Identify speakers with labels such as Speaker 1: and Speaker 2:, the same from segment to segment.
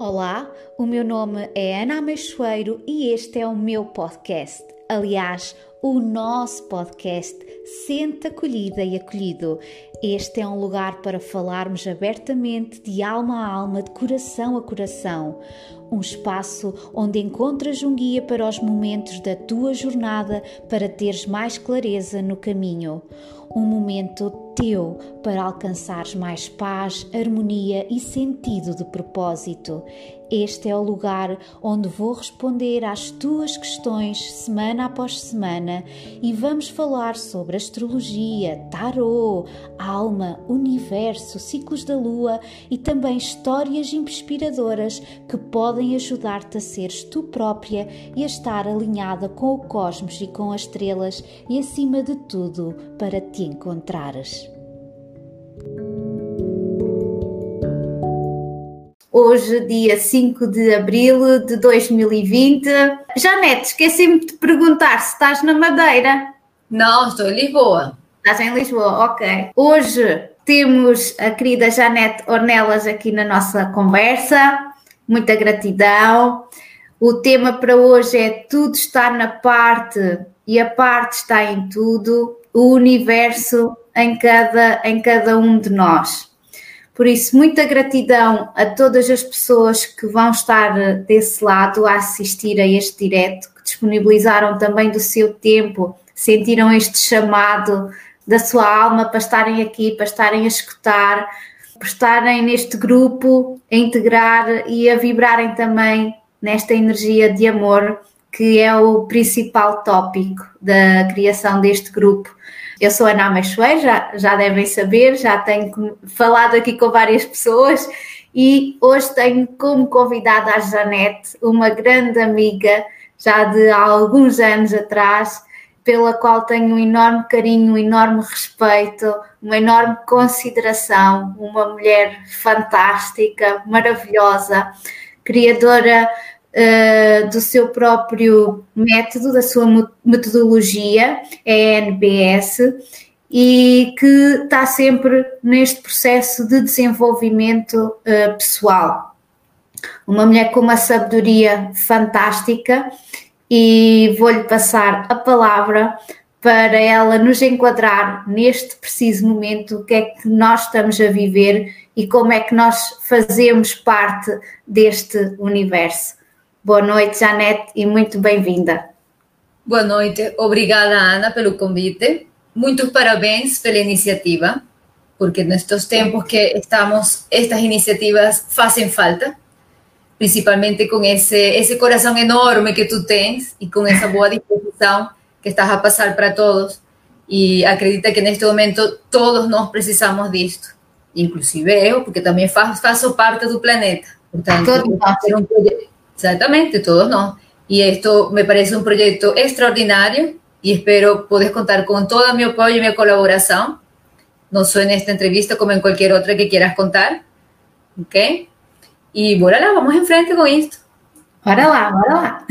Speaker 1: Olá, o meu nome é Ana Ameixoeiro e este é o meu podcast. Aliás, o nosso podcast Sente Acolhida e Acolhido. Este é um lugar para falarmos abertamente de alma a alma, de coração a coração. Um espaço onde encontras um guia para os momentos da tua jornada para teres mais clareza no caminho. Um momento teu para alcançares mais paz, harmonia e sentido de propósito. Este é o lugar onde vou responder às tuas questões semana após semana e vamos falar sobre astrologia, tarô, alma, universo, ciclos da lua e também histórias inspiradoras que podem ajudar-te a seres tu própria e a estar alinhada com o cosmos e com as estrelas e, acima de tudo, para te encontrares.
Speaker 2: Hoje, dia 5 de abril de 2020. Janete, esqueci-me de te perguntar se estás na Madeira.
Speaker 3: Não, estou em Lisboa.
Speaker 2: Estás em Lisboa, ok. Hoje temos a querida Janete Ornelas aqui na nossa conversa. Muita gratidão. O tema para hoje é tudo está na parte e a parte está em tudo. O universo em cada um de nós. Por isso, muita gratidão a todas as pessoas que vão estar desse lado a assistir a este direto, que disponibilizaram também do seu tempo, sentiram este chamado da sua alma para estarem aqui, para estarem a escutar, para estarem neste grupo, a integrar e a vibrarem também nesta energia de amor, que é o principal tópico da criação deste grupo. Eu sou Ana Ameixoeiro, já devem saber, já tenho falado aqui com várias pessoas e hoje tenho como convidada a Janete, uma grande amiga já de há alguns anos atrás, pela qual tenho um enorme carinho, um enorme respeito, uma enorme consideração, uma mulher fantástica, maravilhosa, criadora do seu próprio método, da sua metodologia, é a NBS, e que está sempre neste processo de desenvolvimento pessoal. Uma mulher com uma sabedoria fantástica e vou-lhe passar a palavra para ela nos enquadrar neste preciso momento o que é que nós estamos a viver e como é que nós fazemos parte deste universo. Boa noite, Janete, e muito bem-vinda.
Speaker 3: Boa noite, obrigada, Ana, pelo convite. Muitos parabéns pela iniciativa, porque nestes tempos que estamos, estas iniciativas fazem falta, principalmente com esse coração enorme que tu tens e com essa boa disposição que estás a passar para todos. E acredita que neste momento todos nós precisamos disto, inclusive eu, porque também faço parte do planeta. Portanto, Exactamente, todos nós. Y esto me parece un proyecto extraordinario y espero poder contar con todo mi apoyo y mi colaboración, no solo en esta entrevista como en cualquier otra que quieras contar. ¿Ok? Y bora lá, vamos em frente com isto.
Speaker 2: Bora lá.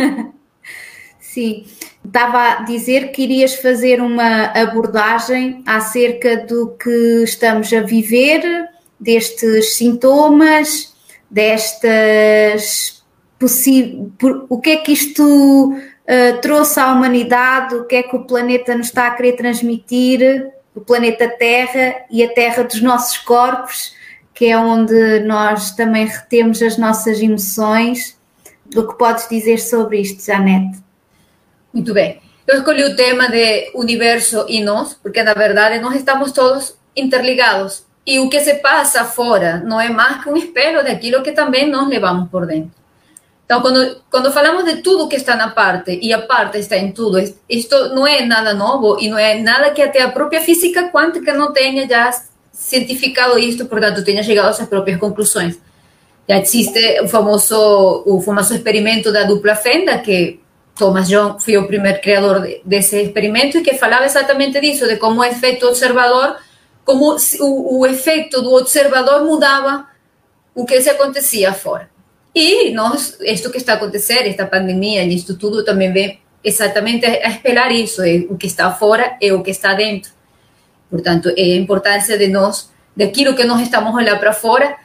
Speaker 2: Sim, estava a dizer que irias fazer uma abordagem acerca do que estamos a viver, destes sintomas, destas o que é que isto trouxe à humanidade, o que é que o planeta nos está a querer transmitir, o planeta Terra e a Terra dos nossos corpos, que é onde nós também retemos as nossas emoções. O que podes dizer sobre isto, Janete?
Speaker 3: Muito bem. Eu escolhi o tema de universo e nós, porque na verdade nós estamos todos interligados e o que se passa fora não é mais que um espelho daquilo que também nós levamos por dentro. Então, quando falamos de tudo que está na parte e a parte está em tudo, isto não é nada novo e não é nada que até a própria física quântica não tenha já cientificado isto, portanto, tenha chegado às suas próprias conclusões. Já existe o famoso experimento da dupla fenda, que Thomas Young foi o primeiro criador desse experimento e que falava exatamente disso, de como o efeito observador, como o efeito do observador mudava o que se acontecia fora. E nós, isto que está a acontecer, esta pandemia e isto tudo também vem exatamente a espelhar isso, o que está fora e o que está dentro. Portanto, é a importância de nós, daquilo que nós estamos a olhar para fora,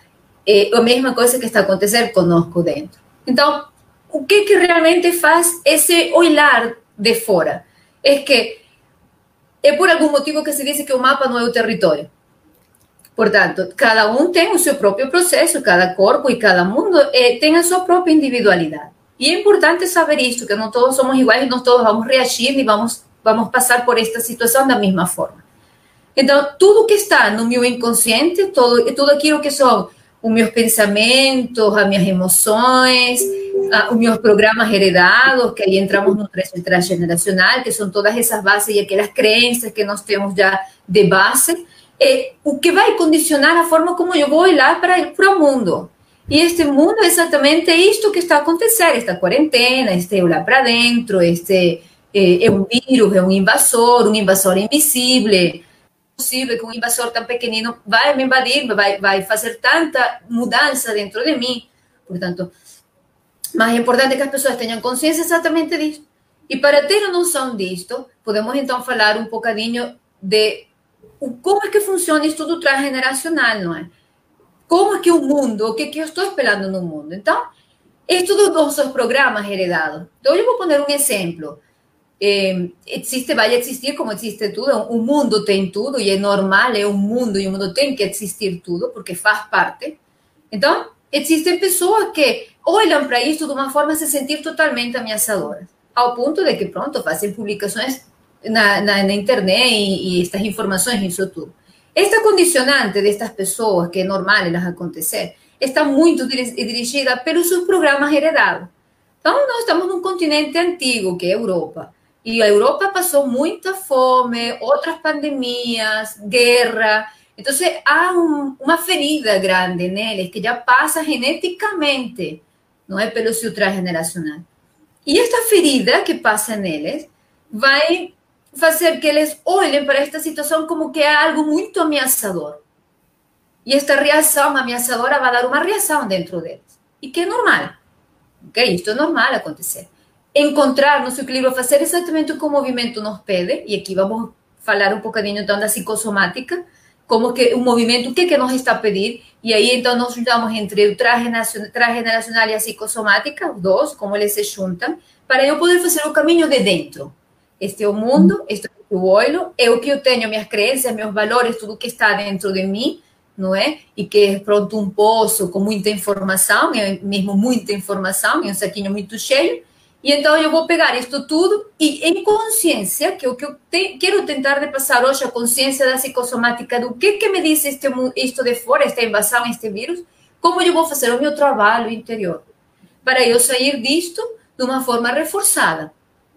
Speaker 3: a mesma coisa que está acontecendo conosco dentro. Então, o que realmente faz esse olhar de fora? É que é por algum motivo que se diz que o mapa não é o território. Portanto, cada um tem o seu próprio processo, cada corpo e cada mundo tem a sua própria individualidade. E é importante saber isto, que não todos somos iguais e não todos vamos reagir e vamos passar por esta situação da mesma forma. Então, tudo que está no meu inconsciente, tudo aquilo que são os meus pensamentos, as minhas emoções, os meus programas heredados, que aí entramos no transgeneracional, que são todas essas bases e aquelas crenças que nós temos já de base, o que vai condicionar a forma como eu vou olhar para o mundo. E este mundo é exatamente isto que está acontecendo, esta quarentena, este olhar para dentro, este é um vírus, é um invasor invisível. Possível que um invasor tão pequenino vai me invadir, vai fazer tanta mudança dentro de mim. Portanto, mais importante é que as pessoas tenham consciência exatamente disso. E para ter noção disto, podemos então falar um bocadinho de como é que funciona isso do transgeneracional, não é? Como é que o mundo, o que eu estou esperando no mundo? Então, é tudo dos nossos programas heredados. Então, eu vou poner um exemplo. Vai existir como existe tudo, o mundo tem tudo e é normal, é um mundo e o mundo tem que existir tudo porque faz parte. Então, existem pessoas que olham para isso de uma forma a se sentir totalmente ameaçadoras, ao ponto de que, pronto, fazem publicações na internet e estas informações e isso tudo. Esta condicionante destas pessoas, que é normal elas acontecer, está muito dirigida pelos seus programas heredados. Então, nós estamos num continente antigo, que é a Europa. E a Europa passou muita fome, outras pandemias, guerra. Então, há uma ferida grande neles que já passa geneticamente, não é pelo seu transgeneracional. E esta ferida que passa neles vai fazer que eles olhem para esta situação como que é algo muito ameaçador. E esta reação ameaçadora vai dar uma reação dentro deles. E que é normal. Okay? Isto é normal acontecer. Encontrar no seu equilíbrio, fazer exatamente o que o movimento nos pede, e aqui vamos falar um bocadinho então da psicossomática, como que o movimento, o que é que nos está a pedir, e aí então nós juntamos entre o transgeneracional e a psicossomática, os dois, como eles se juntam, para eu poder fazer o caminho de dentro. Este é o mundo, este é o olho, é o que eu tenho, minhas crenças, meus valores, tudo que está dentro de mim, não é? E que é pronto um poço com muita informação, é mesmo muita informação, é um saquinho muito cheio. E então eu vou pegar isto tudo e em consciência, que é o que eu quero tentar de passar hoje, a consciência da psicossomática, do que me diz isto de fora, esta invasão, este vírus, como eu vou fazer o meu trabalho interior, para eu sair disto de uma forma reforçada.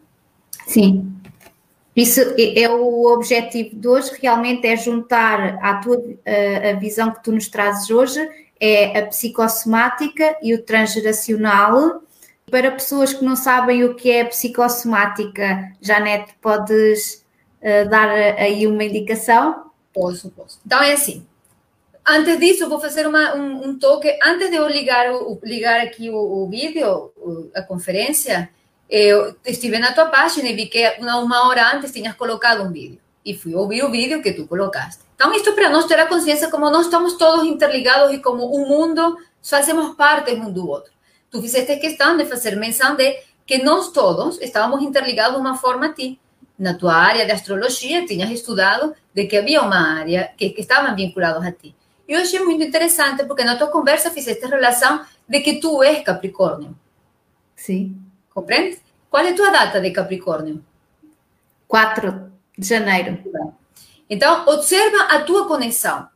Speaker 2: Sim, isso é o objetivo de hoje, realmente é juntar a visão que tu nos trazes hoje, é a psicossomática e o transgeracional. Para pessoas que não sabem o que é psicossomática, Janete, podes dar aí uma indicação?
Speaker 3: Posso. Então é assim, antes disso eu vou fazer um toque, antes de eu ligar aqui o vídeo, a conferência, eu estive na tua página e vi que uma hora antes tinhas colocado um vídeo, e fui ouvir o vídeo que tu colocaste. Então isto para nós ter a consciência como nós estamos todos interligados e como um mundo, fazemos parte um do outro. Tu fizeste questão de fazer menção de que nós todos estávamos interligados de uma forma a ti. Na tua área de astrologia, tinhas estudado de que havia uma área que estavam vinculados a ti. E eu achei muito interessante, porque na tua conversa fizeste relação de que tu és Capricórnio.
Speaker 2: Sim.
Speaker 3: Compreende? Qual é a tua data de Capricórnio?
Speaker 2: 4 de janeiro.
Speaker 3: Então, observa a tua conexão.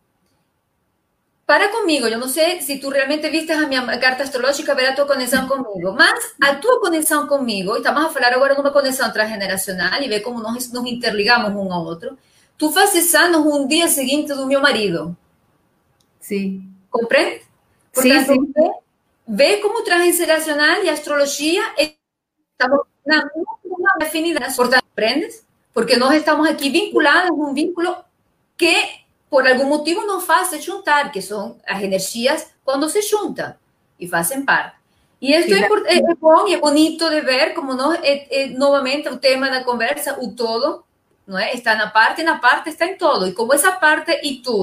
Speaker 3: Para comigo, eu não sei se tu realmente viste a minha carta astrológica, ver a tua conexão comigo, mas a tua conexão comigo, estamos a falar agora de uma conexão transgeneracional e ver como nós nos interligamos um ao outro. Tu fazes anos um dia seguinte do meu marido.
Speaker 2: Sim.
Speaker 3: Compreende? Portanto, sim. Vê como transgeneracional e astrologia estamos na mesma afinidade. Portanto, aprendes? Porque nós estamos aqui vinculados a um vínculo que por algum motivo nos faz se juntar, que são as energias quando se juntam e fazem parte. E isso é bom e é bonito de ver como nós, novamente, o tema da conversa, o todo, não é? Está na parte está em todo. E como essa parte e tudo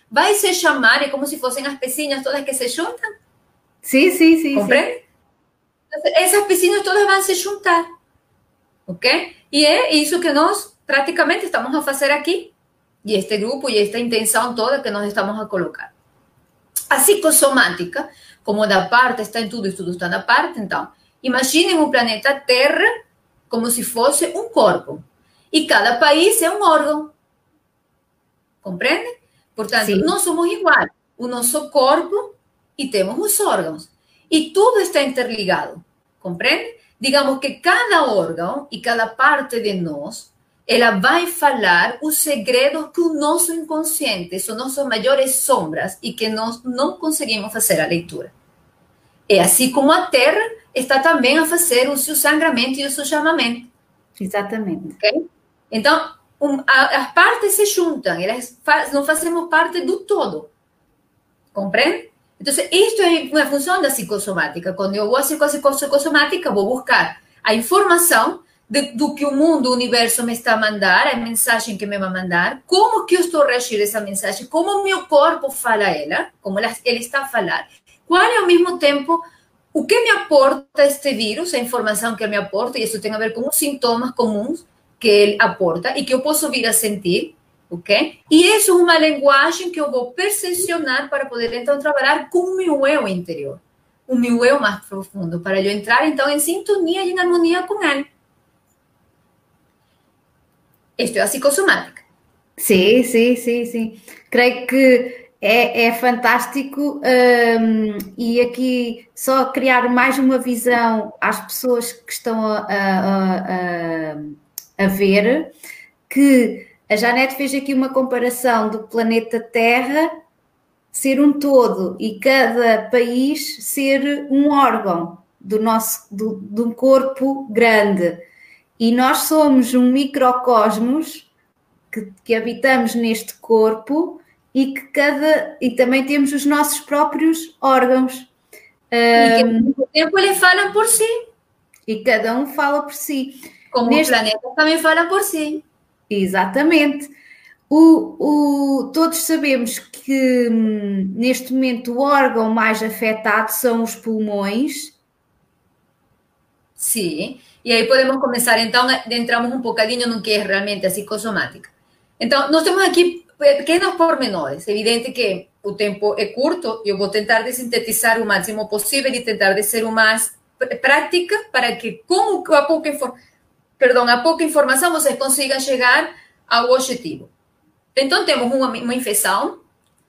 Speaker 3: vai se chamar, é como se fossem as pecinhas todas que se juntam.
Speaker 2: Sim.
Speaker 3: Compreende? Essas pecinhas todas vão se juntar, ok? E é isso que nós praticamente estamos a fazer aqui, e este grupo e esta intenção toda que nós estamos a colocar. A psicossomática, como da parte está em tudo e tudo está na parte, então, imaginem o planeta Terra como se fosse um corpo, e cada país é um órgão, compreende? Portanto,
Speaker 2: Sim.
Speaker 3: nós somos iguais, o nosso corpo e temos os órgãos, e tudo está interligado, compreende? Digamos que cada órgão e cada parte de nós, ela vai falar os segredos que o nosso inconsciente, são nossas maiores sombras e que nós não conseguimos fazer a leitura. É assim como a Terra está também a fazer o seu sangramento e o seu chamamento.
Speaker 2: Exatamente.
Speaker 3: Okay? Então, as partes se juntam, nós fazemos parte do todo. Compreende? Então, isto é uma função da psicossomática. Quando eu vou à psicossomática, vou buscar a informação do que o mundo, o universo me está a mandar, a mensagem que me vai mandar, como que eu estou reagindo a essa mensagem, como o meu corpo fala ela, como ele está a falar, qual é ao mesmo tempo o que me aporta este vírus, a informação que ele me aporta, e isso tem a ver com os sintomas comuns que ele aporta e que eu posso vir a sentir, ok? E isso é uma linguagem que eu vou percepcionar para poder, então, trabalhar com o meu eu interior, o meu eu mais profundo, para eu entrar, então, em sintonia e em harmonia com ele. Isto é a psicossomática.
Speaker 2: Sim. Creio que é fantástico e aqui só criar mais uma visão às pessoas que estão a ver, que a Janete fez aqui uma comparação do planeta Terra ser um todo e cada país ser um órgão de um corpo grande. E nós somos um microcosmos que habitamos neste corpo e e também temos os nossos próprios órgãos.
Speaker 3: E que ao mesmo tempo eles falam por si.
Speaker 2: E cada um fala por si.
Speaker 3: Como os planetas também falam por si.
Speaker 2: Exatamente. Todos sabemos que neste momento o órgão mais afetado são os pulmões.
Speaker 3: Sim. E aí podemos começar, então, entramos um bocadinho no que é realmente a psicossomática. Então, nós temos aqui pequenos pormenores. É evidente que o tempo é curto, eu vou tentar de sintetizar o máximo possível e tentar de ser o mais prática para que, com a pouca informação, vocês consigam chegar ao objetivo. Então, temos uma infecção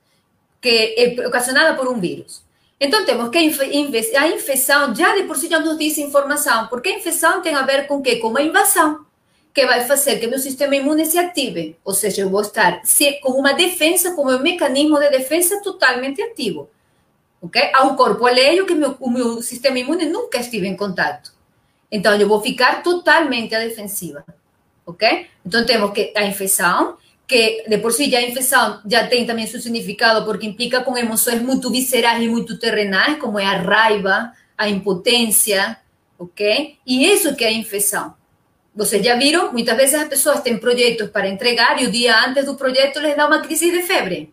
Speaker 3: que é ocasionada por um vírus. Então, temos que a infecção já de por si já nos diz informação, porque a infecção tem a ver com o quê? Com uma invasão, que vai fazer que meu sistema imune se ative, ou seja, eu vou estar com uma defesa, com um mecanismo de defesa totalmente ativo, ok? Há um corpo alheio que o meu sistema imune nunca esteve em contato. Então, eu vou ficar totalmente à defensiva, ok? Então, temos que a infecção, que de por si já a infecção já tem também seu significado, porque implica com emoções muito viscerais e muito terrenais, como é a raiva, a impotência, ok? E isso que é a infecção. Vocês já viram? Muitas vezes as pessoas têm projetos para entregar e o dia antes do projeto les dá uma crise de febre.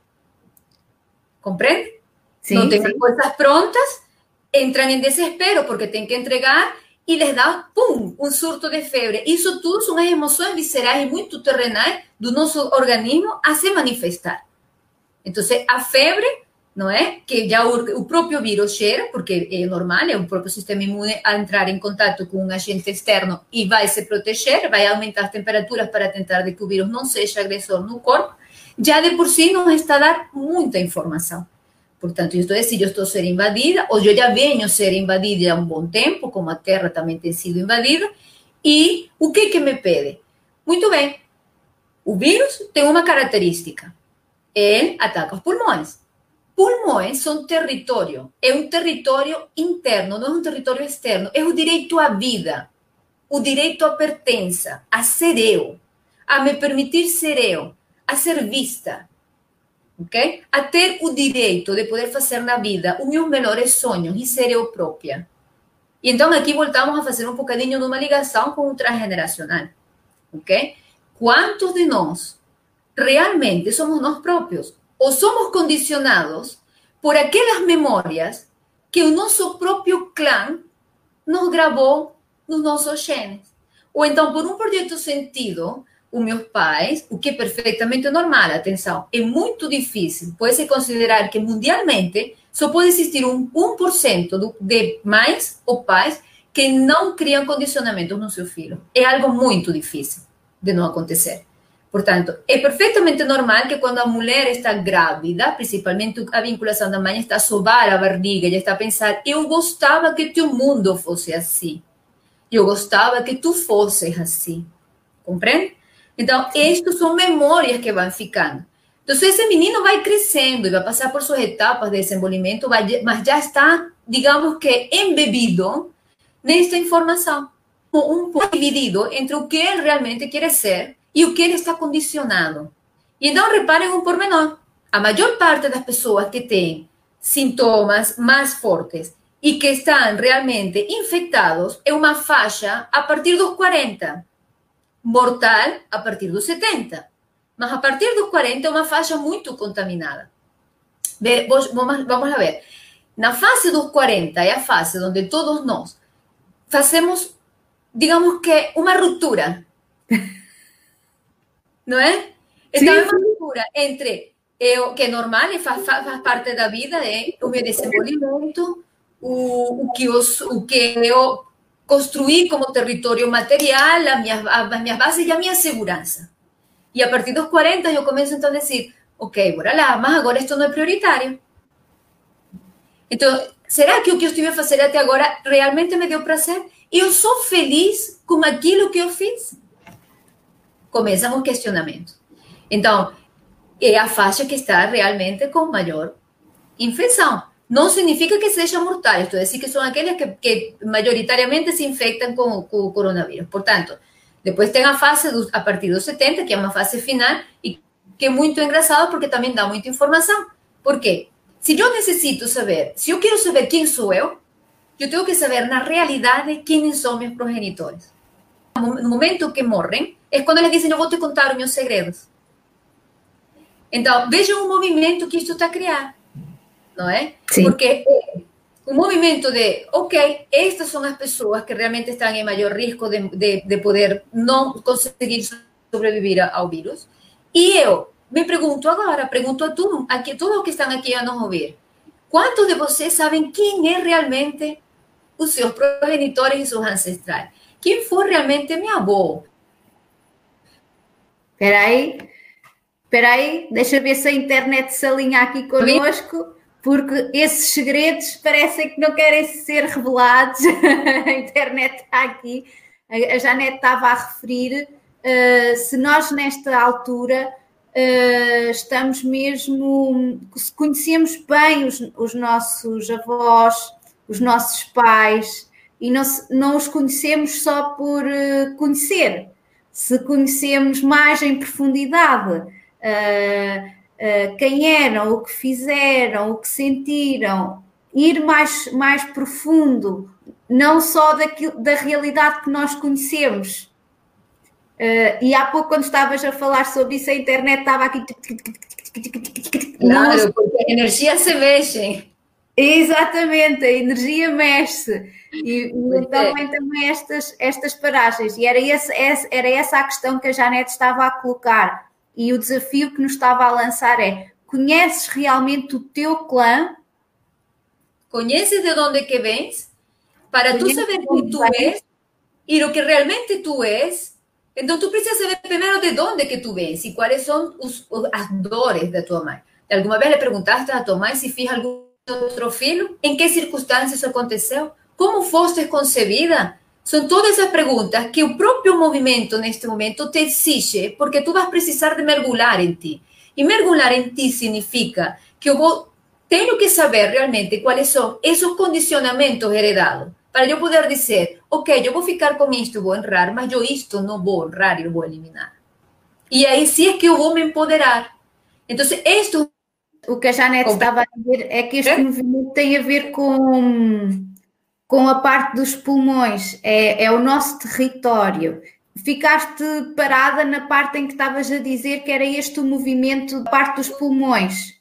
Speaker 3: Compreende?
Speaker 2: Sim,
Speaker 3: não tem
Speaker 2: sim.
Speaker 3: as coisas prontas, entram em desespero porque têm que entregar e les dá, pum, um surto de febre. Isso tudo são as emoções viscerais e muito terrenais do nosso organismo a se manifestar. Então, a febre, não é? Que já o próprio vírus cheira, porque é normal, é o próprio sistema imune a entrar em contato com um agente externo e vai se proteger, vai aumentar as temperaturas para tentar de que o vírus não seja agressor no corpo. Já de por si nos está a dar muita informação. Portanto, isto é, se eu estou a ser invadida, ou eu já venho a ser invadida há um bom tempo, como a Terra também tem sido invadida, e o que me pede? Muito bem, o vírus tem uma característica, ele ataca os pulmões. Pulmões são território, é um território interno, não é um território externo, é o direito à vida, o direito à pertença, a ser eu, a me permitir ser eu, a ser vista, ok? A ter o direito de poder fazer na vida os meus melhores sonhos e ser eu própria. E então aqui voltamos a fazer um bocadinho de uma ligação com o transgeneracional, ok? Quantos de nós realmente somos nós próprios? ou somos condicionados por aquelas memórias que o nosso próprio clã nos gravou nos nossos genes. Ou então, por um projeto sentido, os meus pais, o que é perfeitamente normal, atenção, é muito difícil, pode-se considerar que mundialmente só pode existir 1% de mães ou pais que não criam condicionamentos no seu filho. É algo muito difícil de não acontecer. Portanto, é perfeitamente normal que quando a mulher está grávida, principalmente a vinculação da mãe está a sovar a barriga e está a pensar, eu gostava que teu mundo fosse assim. Eu gostava que tu fosses assim. Compreende? Então, estas são memórias que vão ficando. Então, esse menino vai crescendo e vai passar por suas etapas de desenvolvimento, mas já está, digamos que, embebido nesta informação. Um pouco dividido entre o que ele realmente quer ser e o que ele está condicionado. E então, reparem um pormenor. A maior parte das pessoas que têm sintomas mais fortes e que estão realmente infectados é uma faixa a partir dos 40. Mortal a partir dos 70. Mas a partir dos 40 é uma faixa muito contaminada. Vamos a ver. Na fase dos 40 é a fase onde todos nós fazemos, digamos que, uma ruptura. Não é? Então, é uma ruptura entre o que é normal e faz parte da vida, é o meu desenvolvimento, o que eu construí como território material, as minhas bases e a minha segurança. E a partir dos 40 eu começo então a dizer, ok, bora lá, mas agora isto não é prioritário. Então, será que o que eu estive a fazer até agora realmente me deu prazer? Eu sou feliz com aquilo que eu fiz? Começam os questionamentos. Então, é a faixa que está realmente com maior infecção. Não significa que sejam mortais, estou a dizer que são aqueles que majoritariamente se infectam com o coronavírus. Portanto, depois tem a fase a partir dos 70, que é uma fase final, e que é muito engraçado porque também dá muita informação. Por quê? Se eu necessito saber, se eu quero saber quem sou eu tenho que saber na realidade quem são meus progenitores. No momento que morrem, é quando eles dizem, eu vou te contar os meus segredos. Então, vejam o movimento que isto está a criar. Não é? Sim. Porque o movimento de, ok, estas são as pessoas que realmente estão em maior risco de poder não conseguir sobreviver ao vírus. E eu me pergunto agora, pergunto a todos que estão aqui a nos ouvir, quantos de vocês sabem quem é realmente os seus progenitores e seus ancestrais? Quem foi realmente meu avô?
Speaker 2: Espera aí, deixa ver se a internet se alinha aqui connosco. Porque esses segredos parecem que não querem ser revelados. A internet está aqui. A Janete estava a referir. Se nós, nesta altura, estamos mesmo... Se conhecemos bem os nossos avós, os nossos pais, e não os conhecemos só por conhecer. Se conhecemos mais em profundidade... quem eram, o que fizeram, o que sentiram, ir mais profundo, não só da realidade que nós conhecemos. E há pouco, quando estavas a falar sobre isso, a internet estava aqui...
Speaker 3: Claro, porque a energia se mexe.
Speaker 2: Exatamente, a energia mexe. E então vem também estas paragens. E era essa a questão que a Janete estava a colocar. E o desafio que nos estava a lançar é: conheces realmente o teu clã?
Speaker 3: Conheces de onde que vens? Para tu saber quem tu és e o que realmente tu és, então tu precisas saber primeiro de onde que tu vens e quais são as dores da tua mãe. Alguma vez le perguntaste a tua mãe se fez algum outro filho? Em que circunstâncias isso aconteceu? Como foste concebida? São todas essas perguntas que o próprio movimento, neste momento, te exige, porque tu vas precisar de mergulhar em ti. E mergulhar em ti significa que tenho que saber realmente quais são esses condicionamentos heredados, para eu poder dizer, ok, eu vou ficar com isto, vou honrar, mas eu isto não vou honrar e eu vou eliminar. E aí sim é que eu vou me empoderar. Então, isto...
Speaker 2: O que a Janete estava a dizer é que este movimento tem a ver com a parte dos pulmões, é o nosso território. ficaste parada na parte em que estavas a dizer que era este o movimento da parte dos pulmões.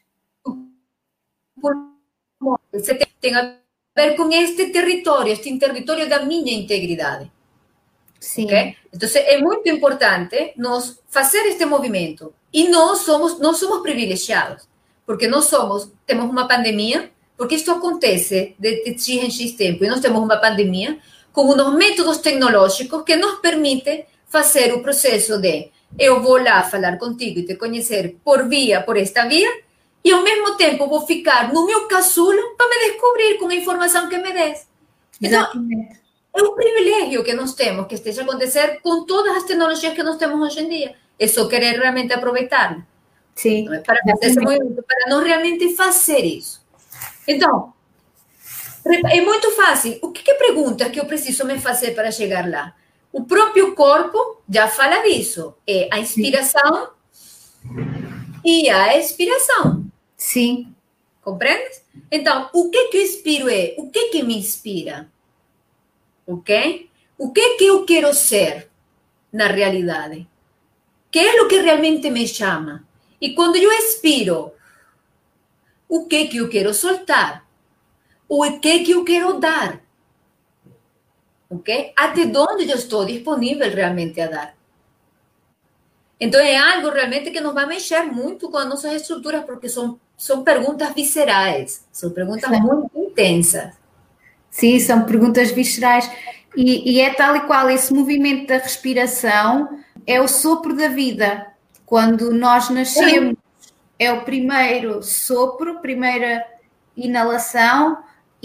Speaker 3: Tem a ver com este território da minha integridade.
Speaker 2: Sim.
Speaker 3: Okay? Então, é muito importante nós fazer este movimento. E nós somos privilegiados, porque temos uma pandemia, porque isto acontece de X em X tempo, e nós temos uma pandemia com uns métodos tecnológicos que nos permitem fazer o processo de eu vou lá falar contigo e te conhecer por esta via, e ao mesmo tempo vou ficar no meu casulo para me descobrir com a informação que me des. Então, é um privilégio que nós temos que esteja a acontecer com todas as tecnologias que nós temos hoje em dia. É só querer realmente aproveitar.
Speaker 2: Sim.
Speaker 3: Para fazer esse movimento, para nós realmente fazer isso. Então, é muito fácil. O que perguntas que eu preciso me fazer para chegar lá? O próprio corpo já fala disso. É a inspiração e a expiração.
Speaker 2: Sim.
Speaker 3: Compreendes? Então, o que eu inspiro é? O que me inspira? Ok? O que eu quero ser na realidade? Que é o que realmente me chama? E quando eu expiro, o que eu quero soltar? O que eu quero dar? Ok? Até onde eu estou disponível realmente a dar? Então, é algo realmente que nos vai mexer muito com as nossas estruturas, porque são perguntas viscerais, são perguntas muito intensas.
Speaker 2: Sim, são perguntas viscerais. E é tal e qual, esse movimento da respiração é o sopro da vida. Quando nós nascemos, é o primeiro sopro, primeira inalação,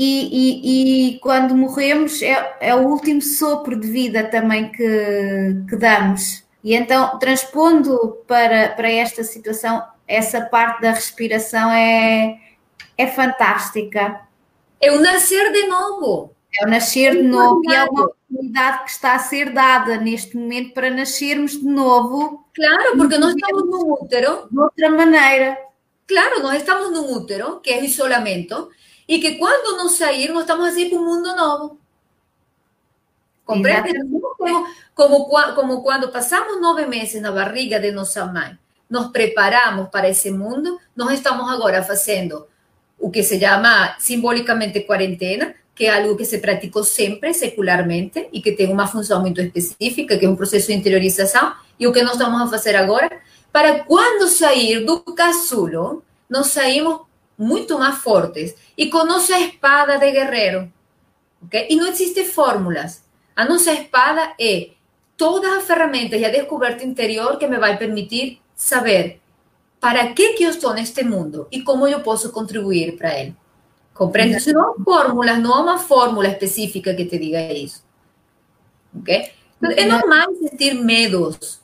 Speaker 2: e quando morremos é o último sopro de vida também que damos. E então, transpondo para esta situação, essa parte da respiração é fantástica.
Speaker 3: É o nascer de novo.
Speaker 2: É o nascer de novo e é uma oportunidade que está a ser dada neste momento para nascermos de novo.
Speaker 3: Claro, porque nós estamos num útero.
Speaker 2: De outra maneira.
Speaker 3: Claro, nós estamos num útero, que é o isolamento, e que quando nos sair, nós estamos assim para um mundo novo. Compreende? Como quando passamos 9 meses na barriga de nossa mãe, nos preparamos para esse mundo, nós estamos agora fazendo o que se chama simbolicamente quarentena, que é algo que se praticou sempre, secularmente, e que tem uma função muito específica, que é um processo de interiorização, e o que nós estamos a fazer agora, para quando sair do casulo, nós saímos muito mais fortes, e com nossa espada de guerreiro. Okay? E não existem fórmulas. A nossa espada é todas as ferramentas e a descoberta interior que me vai permitir saber para que eu estou neste mundo e como eu posso contribuir para ele. Compreende? Isso não há fórmulas, não há uma fórmula específica que te diga isso. Ok? Então, é normal sentir medos.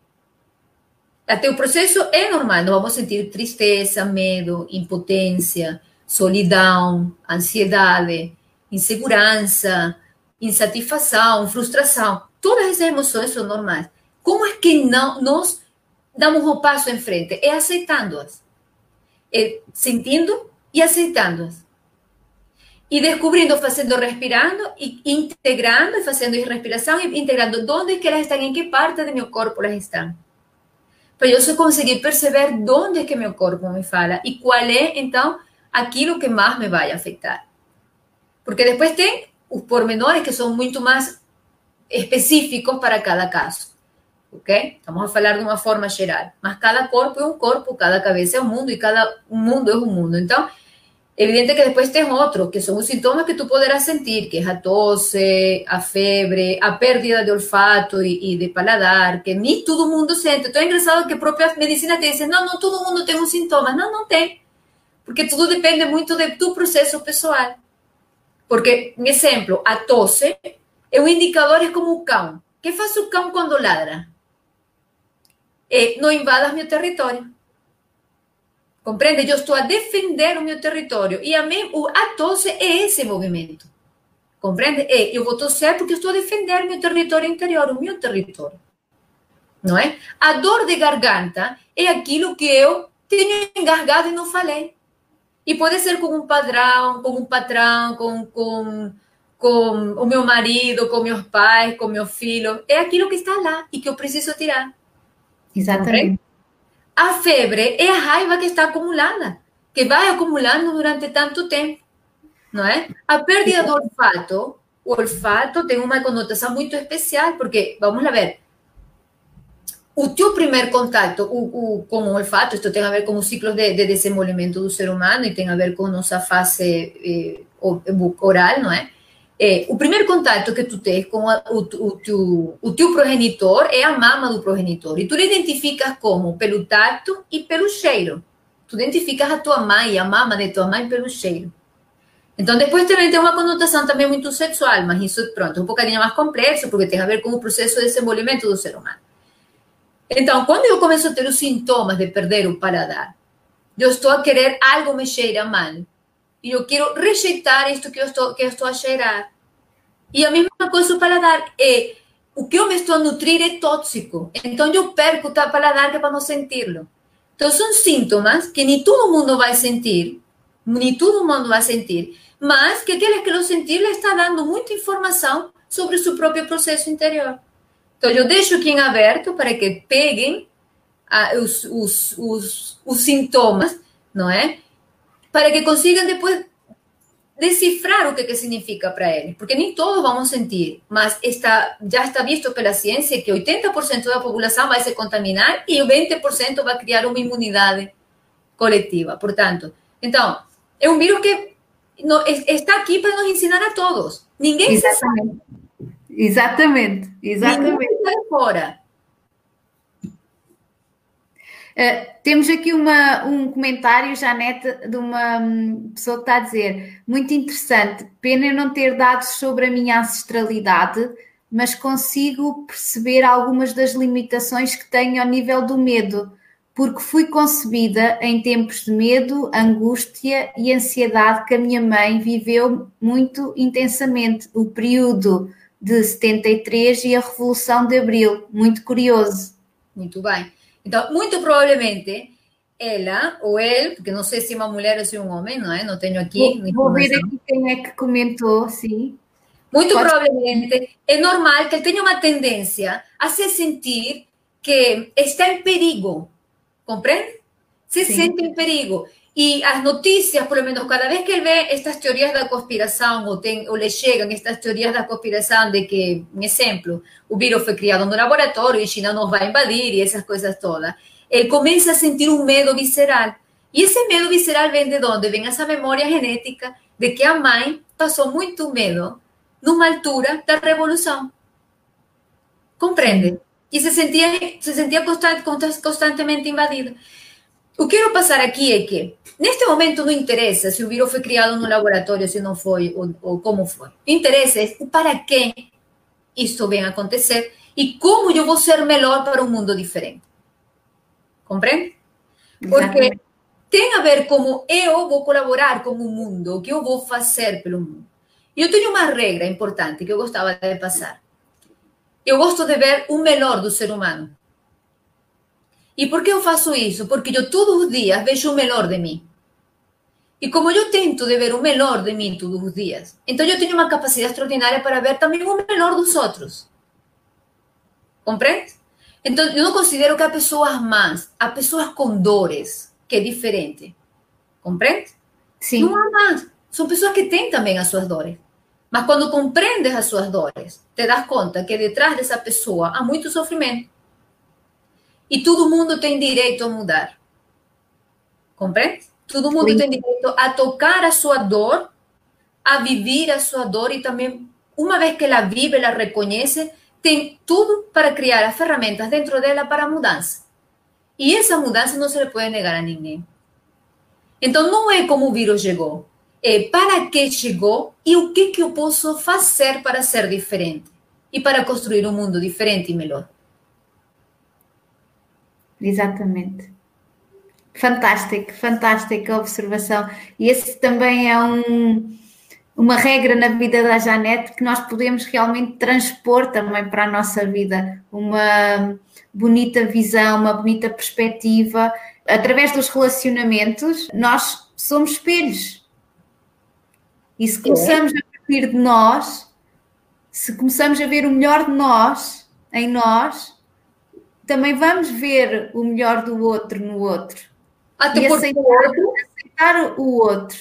Speaker 3: Até o processo é normal. Nós vamos sentir tristeza, medo, impotência, solidão, ansiedade, insegurança, insatisfação, frustração. Todas essas emoções são normais. Como é que não nós damos um passo em frente? É aceitando-as. É sentindo e aceitando-as. E descobrindo, fazendo, respirando, e integrando, e fazendo respiração, e integrando onde que elas estão, em que parte do meu corpo elas estão. Para eu só conseguir perceber onde que meu corpo me fala e qual é, então, aquilo que mais me vai afetar. Porque depois tem os pormenores que são muito mais específicos para cada caso. Ok? Estamos a falar de uma forma geral. Mas cada corpo é um corpo, cada cabeça é um mundo e cada mundo é um mundo. Então, evidente que depois tem outros, que são os sintomas que tu poderás sentir, que é a tosse, a febre, a perda de olfato e de paladar, que nem todo mundo sente. Então é engraçado que a própria medicina te diz, não todo mundo tem um sintoma. Não tem. Porque tudo depende muito do teu processo pessoal. Porque, um exemplo, a tosse é um indicador, é como o cão. O que faz o cão quando ladra? Não invadas meu território. Compreende? Eu estou a defender o meu território. E a tosse é esse movimento. Compreende? Eu vou tosser porque eu estou a defender meu território interior, o meu território. Não é? A dor de garganta é aquilo que eu tenho engasgado e não falei. E pode ser com um padrão, com com o meu marido, com meus pais, com meu filho. É aquilo que está lá e que eu preciso tirar.
Speaker 2: Exatamente.
Speaker 3: A febre é a raiva que está acumulada, que vai acumulando durante tanto tempo, não é? A perda do olfato, o olfato tem uma conotação muito especial, porque, vamos lá ver, o teu primeiro contato com o olfato, isto tem a ver com os ciclos de desenvolvimento do ser humano e tem a ver com nossa fase oral, não é? O primeiro contato que tu tens com o teu progenitor é a mama do progenitor. E tu identificas como? Pelo tato e pelo cheiro. Tu identificas a tua mãe, a mama de tua mãe pelo cheiro. Então, depois também tem uma conotação também muito sexual, mas isso, pronto, é um bocadinho mais complexo, porque tem a ver com o processo de desenvolvimento do ser humano. Então, quando eu começo a ter os sintomas de perder o paladar, eu estou a querer algo me cheira mal. E eu quero rejeitar isto que eu estou a cheirar. E a mesma coisa o paladar. O que eu me estou a nutrir é tóxico. Então, eu perco o paladar que é para não sentir-lo. Então, são sintomas que nem todo mundo vai sentir, mas que aqueles que lo sentir lhe está dando muita informação sobre o seu próprio processo interior. Então, eu deixo aqui em aberto para que peguem os sintomas, não é? Para que consigam depois decifrar o que significa para eles. Porque nem todos vamos sentir, mas já está visto pela ciência que 80% da população vai se contaminar e o 20% vai criar uma imunidade coletiva. Portanto, então, é um vírus que está aqui para nos ensinar a todos. Ninguém se sabe.
Speaker 2: Exatamente.
Speaker 3: Ninguém está fora.
Speaker 2: Temos aqui um comentário, Janete, de uma pessoa que está a dizer: muito interessante, pena eu não ter dados sobre a minha ancestralidade, mas consigo perceber algumas das limitações que tenho ao nível do medo, porque fui concebida em tempos de medo, angústia e ansiedade que a minha mãe viveu muito intensamente, o período de 73 e a Revolução de Abril. Muito curioso.
Speaker 3: Muito bem. Então, muito provavelmente, ela ou ele, porque não sei se é uma mulher ou se é um homem, não é? Não tenho aqui.
Speaker 2: Vou ver aqui quem é que comentou, sim.
Speaker 3: Muito provavelmente, é normal que ele tenha uma tendência a se sentir que está em perigo. Compreende? Se sente em perigo. E as notícias, por lo menos, cada vez que ele vê estas teorias da conspiração, ou lhe chegam estas teorias da conspiração de que, um exemplo, o vírus foi criado no laboratório e China nos vai invadir e essas coisas todas, ele começa a sentir um medo visceral. E esse medo visceral vem de onde? Vem essa memória genética de que a mãe passou muito medo numa altura da revolução. Compreende? E se sentia constantemente invadida. O que quero passar aqui é que, neste momento, não interessa se o vírus foi criado no laboratório, se não foi, ou como foi. O interessa é para que isso venha a acontecer e como eu vou ser melhor para um mundo diferente. Compreende? Porque tem a ver como eu vou colaborar com o mundo, o que eu vou fazer pelo mundo. E eu tenho uma regra importante que eu gostava de passar. Eu gosto de ver o melhor do ser humano. E por que eu faço isso? Porque eu todos os dias vejo o melhor de mim. E como eu tento de ver o melhor de mim todos os dias, então eu tenho uma capacidade extraordinária para ver também o melhor dos outros. Compreende? Então, eu não considero que há pessoas más, há pessoas com dores, que é diferente. Compreende?
Speaker 2: Sim.
Speaker 3: Não há más. São pessoas que têm também as suas dores. Mas quando compreendes as suas dores, te das conta que detrás dessa pessoa há muito sofrimento. E todo mundo tem direito a mudar. Compreende? Todo mundo tem direito a tocar a sua dor, a viver a sua dor e também, uma vez que ela vive, ela reconhece, tem tudo para criar as ferramentas dentro dela para a mudança. E essa mudança não se lhe pode negar a ninguém. Então, não é como o vírus chegou. É para que chegou e o que eu posso fazer para ser diferente. E para construir um mundo diferente e melhor.
Speaker 2: Exatamente. Fantástica observação. E esse também é uma regra na vida da Janete que nós podemos realmente transpor também para a nossa vida. Uma bonita visão, uma bonita perspectiva. Através dos relacionamentos, nós somos espelhos. E se começamos a partir de nós, se começamos a ver o melhor de nós, em nós, também vamos ver o melhor do outro no outro.
Speaker 3: Até
Speaker 2: e
Speaker 3: porque
Speaker 2: aceitar o outro.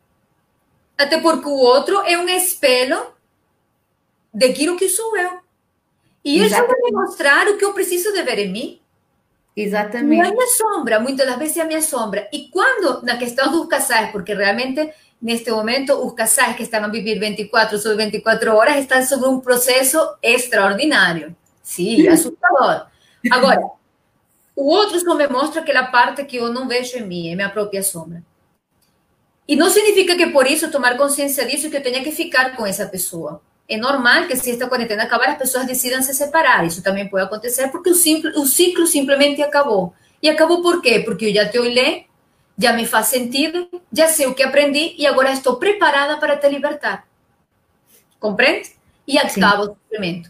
Speaker 3: Até porque o outro é um espelho daquilo que sou eu. E ele vai me mostrar o que eu preciso de ver em mim.
Speaker 2: Exatamente.
Speaker 3: E a minha sombra, muitas das vezes é a minha sombra. E quando, na questão dos casais, porque realmente, neste momento, os casais que estão a viver 24 sobre 24 horas estão sobre um processo extraordinário. Sim, assustador. Agora, o outro só me mostra aquela parte que eu não vejo em mim, é minha própria sombra. E não significa que por isso tomar consciência disso que eu tenha que ficar com essa pessoa. É normal que se esta quarentena acabar, as pessoas decidam se separar. Isso também pode acontecer porque o ciclo simplesmente acabou. E acabou por quê? Porque eu já te olhei, já me faz sentido, já sei o que aprendi e agora estou preparada para te libertar. Compreende? E acaba o sofrimento.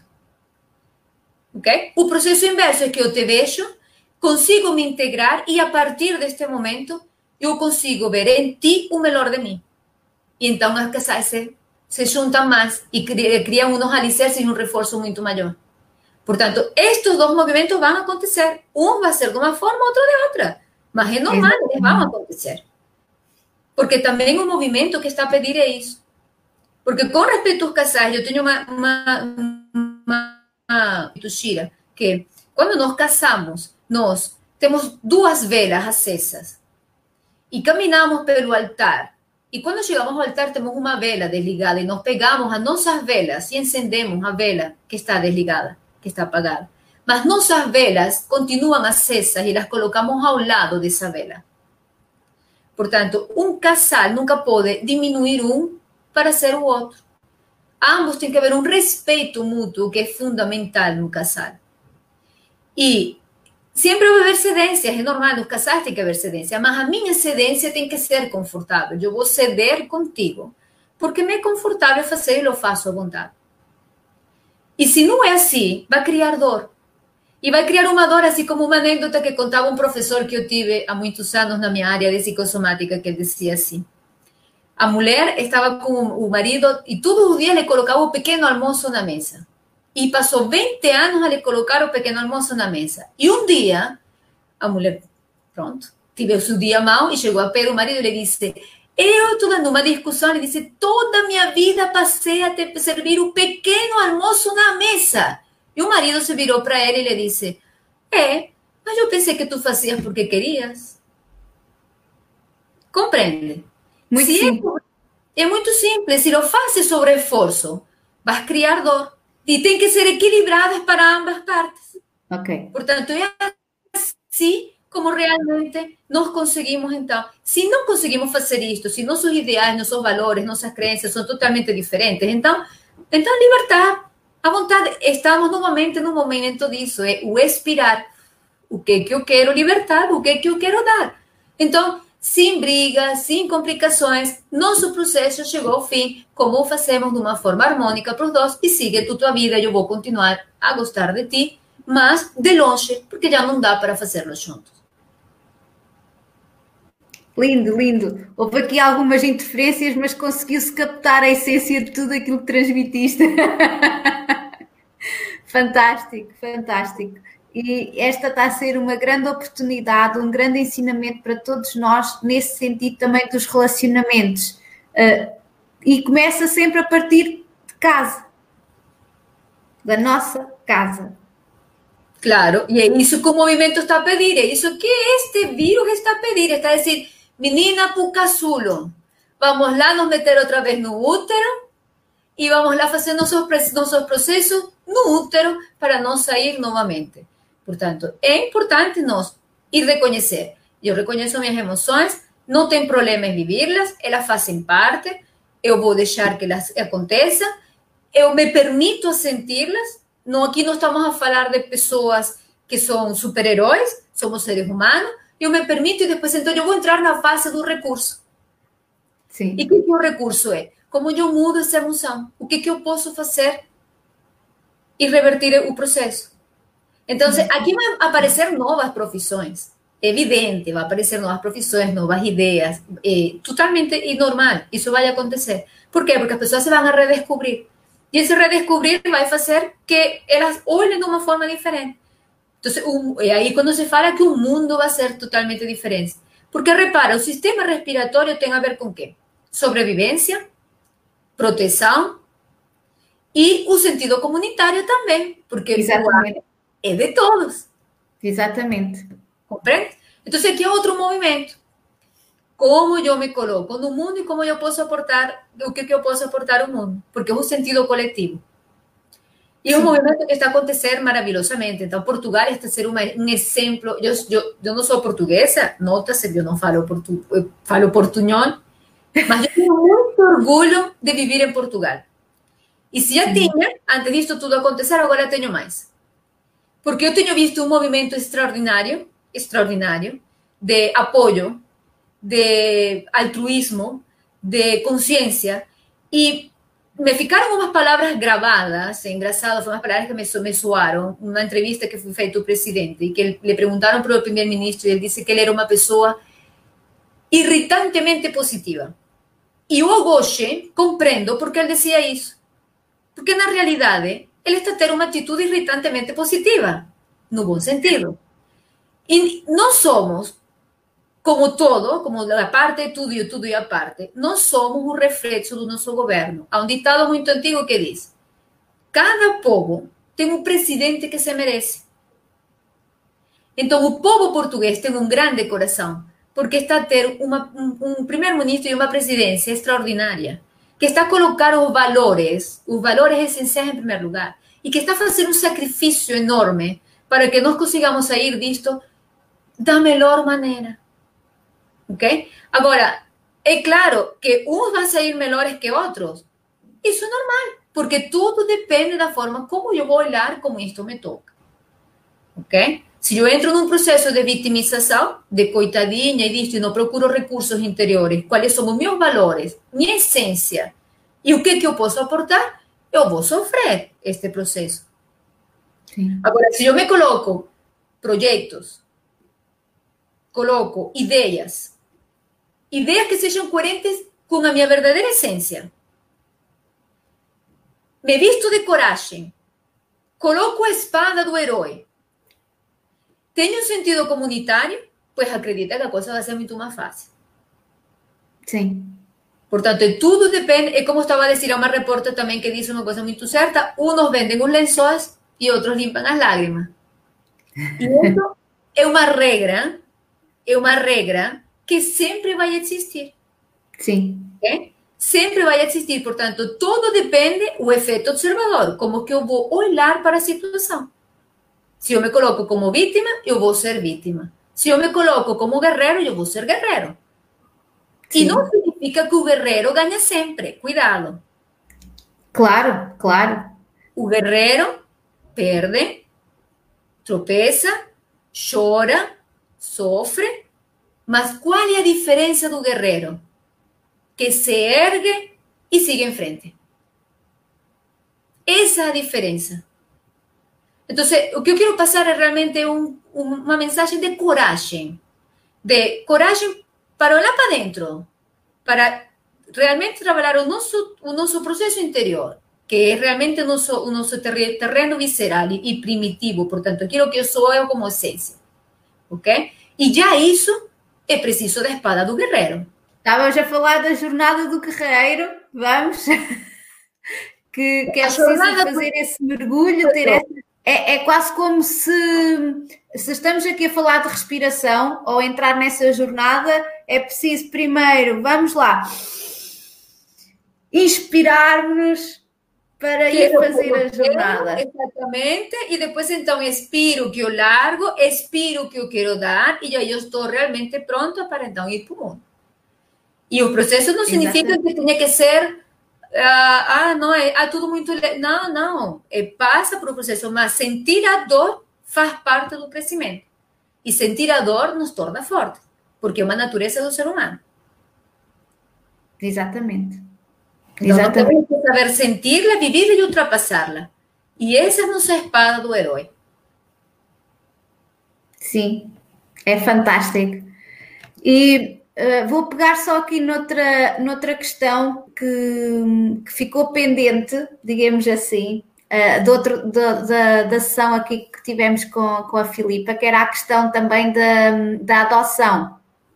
Speaker 3: Ok? O processo inverso é que eu te vejo, consigo me integrar e a partir deste momento eu consigo ver em ti o melhor de mim. E então os casais se juntam mais e criam uns alicerces e um reforço muito maior. Portanto, estes dois movimentos vão acontecer. Um vai ser de uma forma, outro de outra. Mas é normal, eles vão acontecer. Porque também o movimento que está a pedir é isso. Porque com respeito aos casais, eu tenho uma Shira, que quando nós casamos, nós temos 2 velas acesas. E caminhamos pelo altar. E quando chegamos ao altar, temos uma vela desligada. E nós pegamos as nossas velas e acendemos a vela que está desligada, que está apagada. Mas nossas velas continuam acesas e las colocamos ao lado dessa vela. Portanto, um casal nunca pode diminuir um para ser o outro. Ambos têm que haver um respeito mútuo que é fundamental no casal. E sempre vai haver cedências, é normal, nos casais tem que haver cedência, mas a minha cedência tem que ser confortável. Eu vou ceder contigo, porque me é confortável fazer e eu faço à vontade. E se não é assim, vai criar dor. E vai criar uma dor, assim como uma anedota que contava um professor que eu tive há muitos anos na minha área de psicossomática, que ele dizia assim: a mulher estava com o marido e todos os dias lhe colocava o pequeno almoço na mesa. E passou 20 anos a lhe colocar o pequeno almoço na mesa. E um dia, a mulher, pronto, teve o seu dia mau e chegou a pé do marido e lhe disse: eu estou dando uma discussão, ele disse, toda a minha vida passei a te servir o pequeno almoço na mesa. E o marido se virou para ele e lhe disse: mas eu pensei que tu fazias porque querias. Compreende?
Speaker 2: Muito simples.
Speaker 3: É muito simples. Se não fazes sobre esforço, vas criar dor. E tem que ser equilibradas para ambas partes.
Speaker 2: Ok.
Speaker 3: Portanto, é assim como realmente nós conseguimos, então. Se não conseguimos fazer isto, se nossos ideais, nossos valores, nossas crenças são totalmente diferentes, então libertar. À vontade, estamos novamente no momento disso, é o expirar. O que eu quero libertar, o que eu quero dar. Então, sem brigas, sem complicações, nosso processo chegou ao fim, como o fazemos de uma forma harmônica para os dois, e siga tu tua vida, eu vou continuar a gostar de ti, mas de longe, porque já não dá para fazê-lo juntos.
Speaker 2: Lindo, lindo. Houve aqui algumas interferências, mas conseguiu-se captar a essência de tudo aquilo que transmitiste. Fantástico, fantástico. E esta está a ser uma grande oportunidade, um grande ensinamento para todos nós, nesse sentido também dos relacionamentos. E começa sempre a partir de casa, da nossa casa.
Speaker 3: Claro, e é isso que o movimento está a pedir, é isso que este vírus está a pedir, está a dizer, menina Pucasulo, vamos lá nos meter outra vez no útero e vamos lá fazer nossos processos no útero para não sair novamente. Portanto, é importante nós ir reconhecer. Eu reconheço minhas emoções, não tem problema em vivê-las, elas fazem parte, eu vou deixar que elas aconteçam, eu me permito senti-las. Não, aqui não estamos a falar de pessoas que são super-heróis, somos seres humanos, eu me permito e depois então eu vou entrar na fase do recurso.
Speaker 2: Sim.
Speaker 3: E o que o recurso é? Como eu mudo essa emoção? O que eu posso fazer e revertir o processo? Então, aqui vão aparecer novas profissões. evidente, vai aparecer novas profissões, novas ideias, totalmente normal, isso vai acontecer. Por quê? Porque as pessoas se vão a redescobrir. E esse redescobrir vai fazer que elas olhem de uma forma diferente. Então, é aí quando se fala que o mundo vai ser totalmente diferente. Porque, repara, o sistema respiratório tem a ver com o quê? Sobrevivência, proteção e o sentido comunitário também, porque
Speaker 2: Exatamente.
Speaker 3: o ar é de todos.
Speaker 2: Exatamente.
Speaker 3: Compreende? Então, aqui é outro movimento. Como eu me coloco no mundo e como eu posso aportar, o que eu posso aportar ao mundo, porque é um sentido coletivo. E é um movimento que está a acontecer maravilhosamente. Então, Portugal está a ser um exemplo. Eu não sou portuguesa, nota-se, eu não falo, eu falo portunhol, mas eu tenho muito orgulho de viver em Portugal. E se já tinha, antes disso tudo acontecer, agora tenho mais. Porque eu tenho visto um movimento extraordinário, de apoio, de altruísmo, de consciência, e me ficaram umas palavras gravadas, engraçado, foram umas palavras que me soaram, uma entrevista que foi feita ao presidente, e que lhe perguntaram para o primeiro-ministro, e ele disse que ele era uma pessoa irritantemente positiva. E eu hoje compreendo porque ele dizia isso. Porque, na realidade, ele está a ter uma atitude irritantemente positiva, no bom sentido. E nós somos, como todo, como a parte de tudo e o tudo e a parte, nós somos um reflexo do nosso governo. Há um ditado muito antigo que diz: cada povo tem um presidente que se merece. Então, o povo português tem um grande coração, porque está a ter um primeiro-ministro e uma presidência extraordinária, que está a colocar os valores essenciais em primeiro lugar, e que está a fazer um sacrifício enorme para que nós consigamos sair disto da melhor maneira. Ok? Agora, é claro que uns vão sair melhores que outros. Isso é normal, porque tudo depende da forma como eu vou olhar como isto me toca. Ok? Se eu entro num processo de vitimização, de coitadinha e disto, e não procuro recursos interiores, quais são os meus valores, minha essência, e o que eu posso aportar, eu vou sofrer este processo. Sim. Agora, se eu me coloco projetos, coloco ideias que sejam coerentes com a minha verdadeira essência, me visto de coragem, coloco a espada do herói, tenho um sentido comunitário, pois acredita que a coisa vai ser muito mais fácil.
Speaker 2: Sim.
Speaker 3: Portanto, tudo depende, é como estava a dizer a uma repórter também que disse uma coisa muito certa, uns vendem os lençóis e outros limpam as lágrimas. E isso é uma regra que sempre vai existir.
Speaker 2: Sim.
Speaker 3: Okay? Sempre vai existir, portanto, tudo depende do efeito observador, como que eu vou olhar para a situação. Se eu me coloco como vítima, eu vou ser vítima. Se eu me coloco como guerreiro, eu vou ser guerreiro. Sim. E não significa que o guerreiro ganha sempre. Cuidado.
Speaker 2: Claro, claro.
Speaker 3: O guerreiro perde, tropeça, chora, sofre. Mas qual é a diferença do guerreiro? Que se ergue e sigue em frente. Essa é a diferença. Então, o que eu quero passar é realmente uma mensagem de coragem para olhar para dentro, para realmente trabalhar o nosso processo interior, que é realmente o nosso terreno visceral e primitivo, portanto, aquilo que eu sou eu como essência, ok? E já isso é preciso da espada do guerreiro.
Speaker 2: Estávamos a falar da jornada do guerreiro, vamos, que é preciso fazer esse mergulho, ter essa... É quase como se estamos aqui a falar de respiração ou entrar nessa jornada, é preciso primeiro, vamos lá, inspirar-nos para ir fazer a jornada.
Speaker 3: Exatamente, e depois então expiro que eu largo, expiro que eu quero dar, e aí eu estou realmente pronta para então ir para o mundo. E o processo não significa que tenha que ser... não, é tudo muito... Não. Passa por um processo, mas sentir a dor faz parte do crescimento. E sentir a dor nos torna fortes, porque é uma natureza do ser humano.
Speaker 2: Exatamente.
Speaker 3: Então, temos que saber sentir-la, viver e ultrapassá-la. E essa é a nossa espada do herói.
Speaker 2: Sim. É fantástico. E vou pegar só aqui noutra questão que ficou pendente, digamos assim, da sessão aqui que tivemos com a Filipa, que era a questão também da adoção.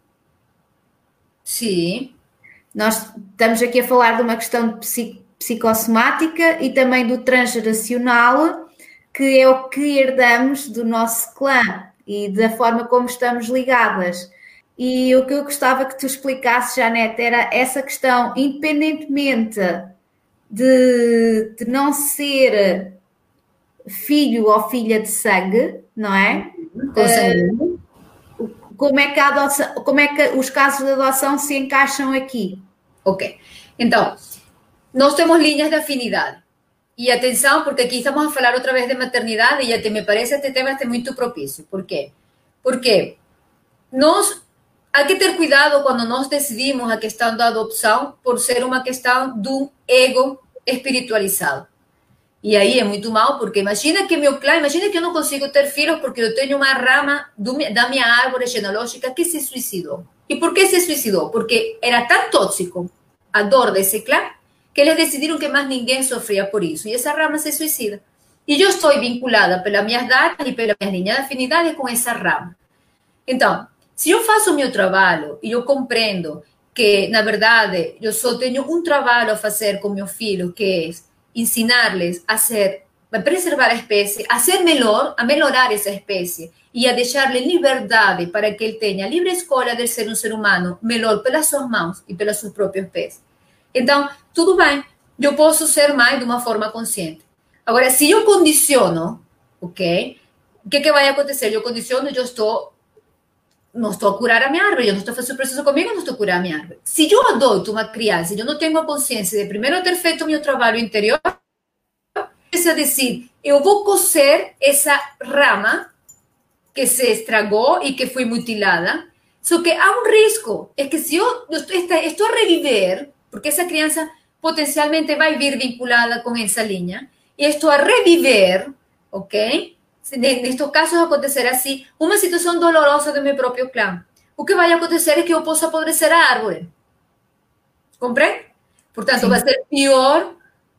Speaker 3: Sim.
Speaker 2: Nós estamos aqui a falar de uma questão de psicossomática e também do transgeracional, que é o que herdamos do nosso clã e da forma como estamos ligadas. E o que eu gostava que tu explicasses, Janete, era essa questão, independentemente de não ser filho ou filha de sangue, não é? Como é que a adoção, como é que os casos de adoção se encaixam aqui?
Speaker 3: Ok. Então, nós temos linhas de afinidade. E atenção, porque aqui estamos a falar outra vez de maternidade e até me parece este tema este muito propício. Por quê? Porque há que ter cuidado quando nós decidimos a questão da adopção por ser uma questão do ego espiritualizado. E aí é muito mal, porque imagina que eu não consigo ter filhos porque eu tenho uma rama da minha árvore genealógica que se suicidou. E por que se suicidou? Porque era tão tóxico a dor desse clã que eles decidiram que mais ninguém sofria por isso. E essa rama se suicida. E eu estou vinculada pelas minhas datas e pelas minhas linhas de afinidade com essa rama. Então, se eu faço o meu trabalho e eu compreendo que, na verdade, eu só tenho um trabalho a fazer com meu filho, que é ensinar-lhes a preservar a espécie, a ser melhor, a melhorar essa espécie e a deixar-lhe liberdade para que ele tenha livre escolha de ser um ser humano melhor pelas suas mãos e pelos seus próprios pés. Então, tudo bem, eu posso ser mãe de uma forma consciente. Agora, se eu condiciono, ok? O que vai acontecer? Eu condiciono, não estou a curar a minha árvore, eu não estou fazendo o processo comigo, não estou a curar a minha árvore. Se eu adoto uma criança e eu não tenho a consciência de primeiro ter feito o meu trabalho interior, é dizer, eu vou coser essa rama que se estragou e que foi mutilada, só que há um risco, é que se eu estou a reviver, porque essa criança potencialmente vai vir vinculada com essa linha, e estou a reviver, ok? Nestes casos acontecer assim, uma situação dolorosa do meu próprio clã. O que vai acontecer é que eu posso apodrecer a árvore. Compreende? Portanto, sim, vai ser pior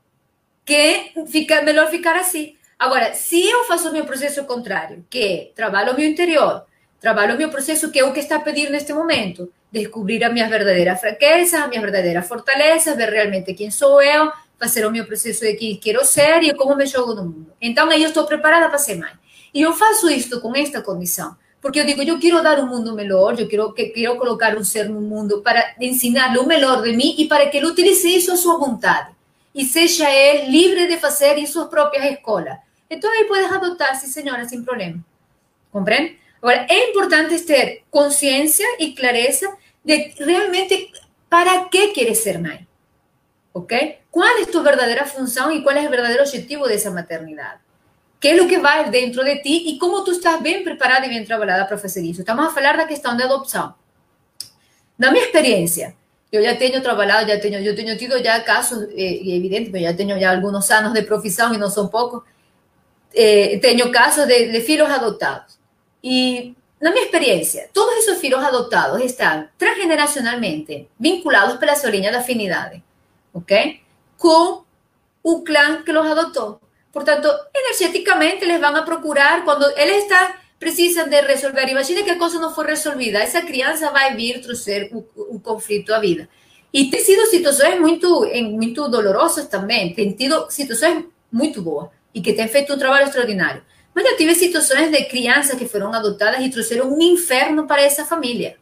Speaker 3: que melhor ficar assim. Agora, se eu faço o meu processo contrário, que é trabalho o meu interior, trabalho o meu processo, que é o que está a pedir neste momento, descobrir as minhas verdadeiras fraquezas, as minhas verdadeiras fortalezas, ver realmente quem sou eu, fazer o meu processo de quem quero ser e como me jogo no mundo. Então, aí eu estou preparada para ser mãe. E eu faço isto com esta condição, porque eu digo, eu quero dar um mundo melhor, eu quero colocar um ser no mundo para ensinar-lhe o melhor de mim e para que ele utilize isso à sua vontade. E seja ele livre de fazer em suas próprias escolhas. Então, aí puedes adotar, sim, senhora, sem problema. Compreende? Agora, é importante ter consciência e clareza de realmente para que queres ser mãe. ¿Ok? ¿Cuál es tu verdadera función y cuál es el verdadero objetivo de esa maternidad? ¿Qué es lo que va dentro de ti y cómo tú estás bien preparada y bien trabajada para hacer eso? Estamos a hablar de la cuestión de adopción. Na minha experiência, eu já tenho trabalhado, eu tenho tido já casos, evidente, eu já tenho já alguns anos de profissão e não são poucos, tenho casos de filhos adotados. E, na minha experiência, todos esses filhos adotados estão transgeneracionalmente vinculados pela sua linha de afinidade, ok? Com o clã que los adotou. Portanto, energeticamente eles vão a procurar, quando eles precisam de resolver, imagine que a coisa não for resolvida, essa criança vai vir trazer o conflito à vida. E tem sido situações muito dolorosas também, tem tido situações muito boas e que têm feito um trabalho extraordinário. Mas eu tive situações de crianças que foram adotadas e trouxeram um inferno para essa família.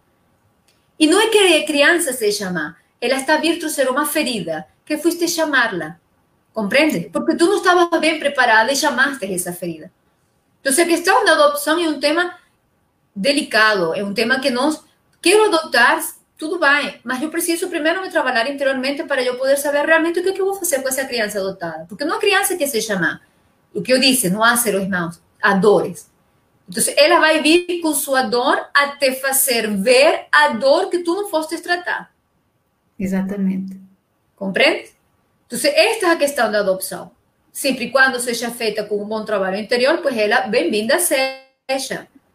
Speaker 3: E não é que a criança seja má, ela está a vir trazer uma ferida que fuiste chamá-la. Compreende? Porque tú no estabas bien preparada y llamaste esa ferida. Entonces, a questão da adopção é um tema delicado, é um tema que nós quero adotar, tudo bem, mas eu preciso primeiro me trabalhar interiormente para eu poder saber realmente o que eu vou fazer com essa criança adotada. Porque não é criança que se chama, o que eu disse, não há seres humanos, há dores. Então, ela vai vir com sua dor a te fazer ver a dor que tu não foste tratar.
Speaker 2: Exatamente.
Speaker 3: Compreende? Então, esta é a questão da adopção. Sempre e quando seja feita com um bom trabalho interior, pois ela, bem-vinda seja.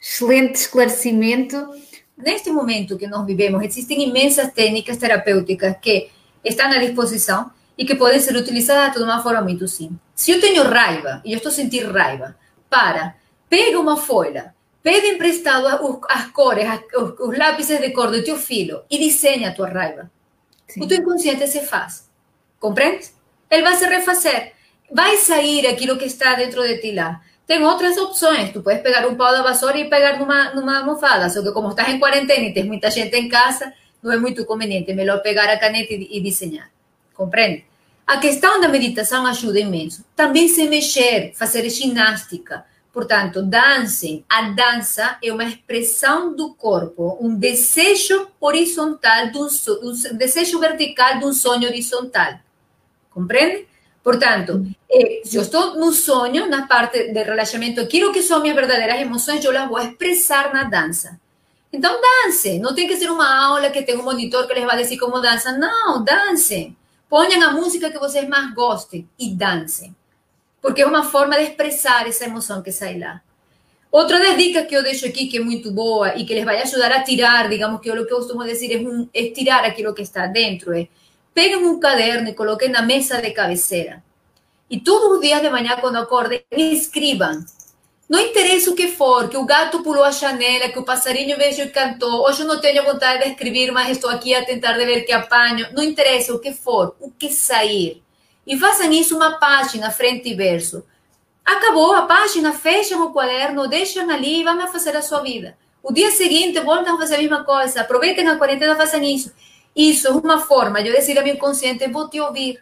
Speaker 2: Excelente esclarecimento.
Speaker 3: Neste momento que nós vivemos, existem imensas técnicas terapêuticas que estão à disposição e que podem ser utilizadas de uma forma muito simples. Se eu tenho raiva e eu estou sentindo raiva, pega uma folha, pede emprestado as cores, os lápis de cor do teu filho e desenha a tua raiva. Sim. O teu inconsciente se faz. Compreende? Ele vai se refazer. Vai sair aquilo que está dentro de ti lá. Tem outras opções. Tu puedes pegar um pau da vassoura e pegar numa almofada. Só que como estás em quarentena e tens muita gente em casa, não é muito conveniente. É melhor pegar a caneta e desenhar. Compreende? A questão da meditação ajuda imenso. Também se mexer, fazer ginástica. Portanto, dancem. A dança é uma expressão do corpo, um desejo horizontal, um desejo vertical de um sonho horizontal. Compreende? Portanto, se eu estou no sonho, na parte de relaxamento, aquilo que são minhas verdadeiras emoções, eu las vou expressar na dança. Então, dance. Não tem que ser uma aula que tem um monitor que les vai dizer como dança. Não, dancem. Ponham a música que vocês mais gostem e dancem. Porque é uma forma de expressar essa emoção que sai lá. Outra das dicas que eu deixo aqui, que é muito boa e que les vai ajudar a tirar, digamos que o que eu costumo dizer é tirar aquilo que está dentro, peguem um caderno e coloquem na mesa de cabeceira. E todos os dias de manhã, quando acordem, escrevam. Não interessa o que for, que o gato pulou a janela, que o passarinho veio e cantou. Hoje eu não tenho vontade de escrever, mas estou aqui a tentar de ver que apanho. Não interessa o que for, o que sair. E façam isso uma página, frente e verso. Acabou a página, fecham o quaderno, deixam ali e vão fazer a sua vida. O dia seguinte, voltam a fazer a mesma coisa. Aproveitem a quarentena, façam isso. Isso é uma forma de eu dizer ao meu inconsciente, vou te ouvir.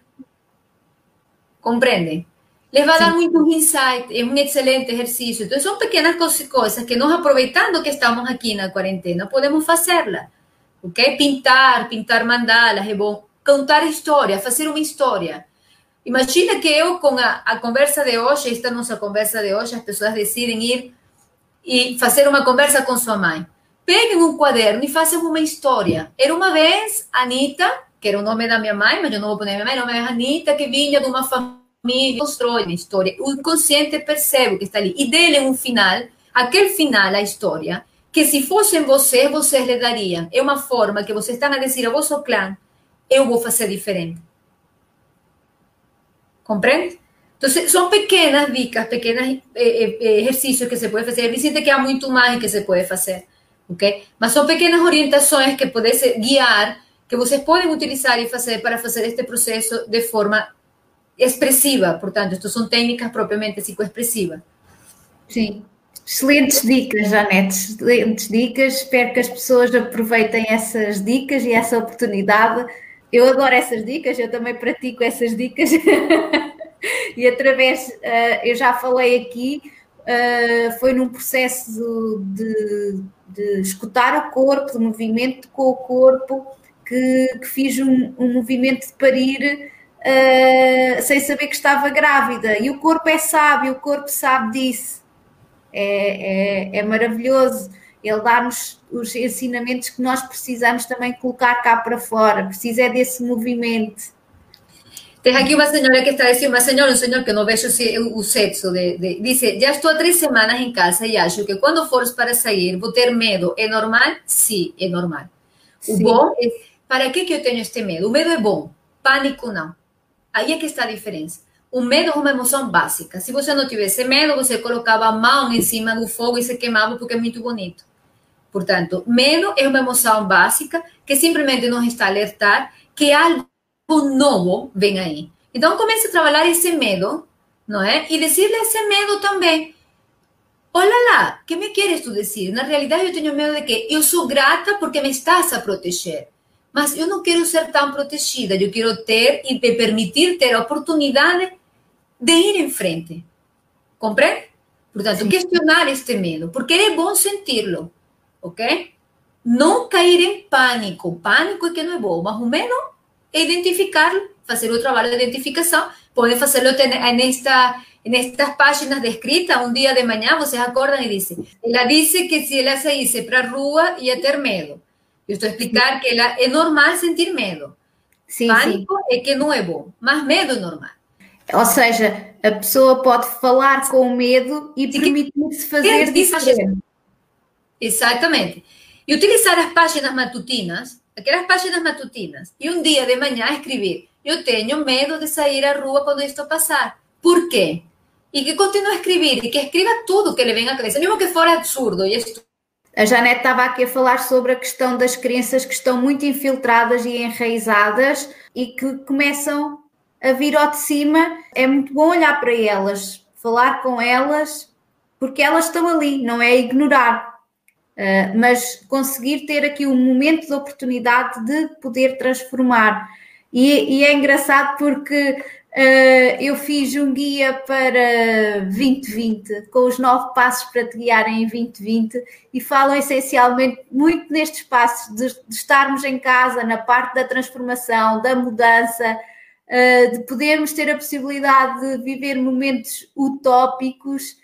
Speaker 3: Compreendem? Les vai dar muito insight, é um excelente exercício. Então, são pequenas coisas que nós, aproveitando que estamos aqui na quarentena, podemos fazê-la. Ok? Pintar mandalas, é bom. Contar história, fazer uma história. Imagina que eu, com a conversa de hoje, esta nossa conversa de hoje, as pessoas decidem ir e fazer uma conversa com sua mãe. Peguem um quaderno e façam uma história. Era uma vez Anita, que era o nome da minha mãe, mas eu não vou poner minha mãe, o nome é Anita, que vinha de uma família, constrói uma história. O inconsciente percebe o que está ali. E dele um final, aquele final, a história, que se fossem vocês lhe dariam. É uma forma que vocês estão a dizer ao vosso clã, eu vou fazer diferente. Compreende? Então, são pequenas dicas, pequenos exercícios que se pode fazer. Me sinto que há muito mais que se pode fazer. Okay? Mas são pequenas orientações que podem guiar, que vocês podem utilizar e fazer para fazer este processo de forma expressiva. Portanto, estas são técnicas propriamente psicoexpressivas.
Speaker 2: Sim. Excelentes dicas, Janete. Excelentes dicas. Espero que as pessoas aproveitem essas dicas e essa oportunidade. Eu adoro essas dicas, eu também pratico essas dicas. E através, eu já falei aqui, foi num processo de escutar o corpo, de movimento com o corpo, que fiz um movimento de parir sem saber que estava grávida. E o corpo é sábio, o corpo sabe disso. É maravilhoso. Ele dá-nos os ensinamentos que nós precisamos também colocar cá para fora. Precisa desse movimento.
Speaker 3: Tem aqui uma senhora que está dizendo, um senhor que não vejo o sexo, diz, já estou há 3 semanas em casa e acho que quando fores para sair vou ter medo. É normal? Sim, é normal. O bom é, para que eu tenho este medo? O medo é bom, pânico não. Aí é que está a diferença. O medo é uma emoção básica. Se você não tivesse medo, você colocava a mão em cima do fogo e se queimava porque é muito bonito. Portanto, medo é uma emoção básica que simplesmente nos está a alertar que algo novo vem aí. Então, comece a trabalhar esse medo, não é? E dizer-lhe esse medo também. Olha lá, o que me queres tu dizer? Na realidade, eu tenho medo de que eu sou grata porque me estás a proteger. Mas eu não quero ser tão protegida. Eu quero ter e me permitir ter a oportunidade de ir em frente. Compreende? Portanto, questionar este medo, porque é bom senti-lo. Ok? Não cair em pânico. Pânico é que não é bom, mas o medo é identificá-lo, fazer o trabalho de identificação. Podem fazê-lo nestas páginas de escrita. Um dia de manhã, vocês acordam e dizem. Ela disse que se ela saísse para a rua, ia ter medo. Eu estou a explicar que é normal sentir medo. Sim, pânico é que não é bom, mas medo é normal.
Speaker 2: Ou seja, a pessoa pode falar com medo e permitir-se fazer diferente.
Speaker 3: Exatamente. E utilizar as páginas matutinas, aquelas páginas matutinas, e um dia de manhã escrever: eu tenho medo de sair à rua quando isto passar. Por quê? E que continue a escrever, e que escreva tudo que lhe vem à cabeça, mesmo que for absurdo. E
Speaker 2: a Janete estava aqui a falar sobre a questão das crenças que estão muito infiltradas e enraizadas e que começam a vir ao de cima. É muito bom olhar para elas, falar com elas, porque elas estão ali, não é ignorar, mas conseguir ter aqui um momento de oportunidade de poder transformar. E é engraçado porque eu fiz um guia para 2020, com os 9 passos para te guiarem em 2020, e falam essencialmente muito nestes passos de estarmos em casa, na parte da transformação, da mudança, de podermos ter a possibilidade de viver momentos utópicos,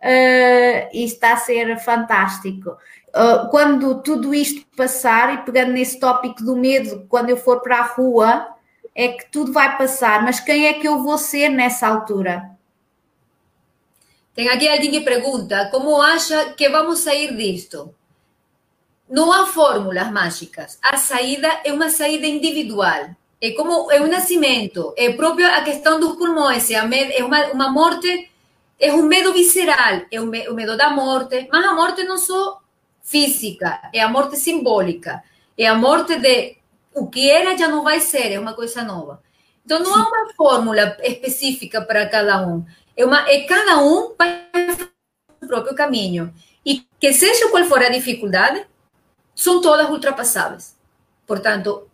Speaker 2: e está a ser fantástico. Quando tudo isto passar, e pegando nesse tópico do medo, quando eu for para a rua, é que tudo vai passar, mas quem é que eu vou ser nessa altura?
Speaker 3: Tem aqui alguém que pergunta: como acha que vamos sair disto? Não há fórmulas mágicas. A saída é uma saída individual. É como é um nascimento. É próprio a questão dos pulmões. É uma morte, é um medo visceral. É o medo da morte. Mas a morte não só física, é a morte simbólica. É a morte de o que era já não vai ser, é uma coisa nova. Então, não há uma fórmula específica para cada um. Cada um vai fazer o próprio caminho. E que seja qual for a dificuldade, são todas ultrapassáveis. Portanto,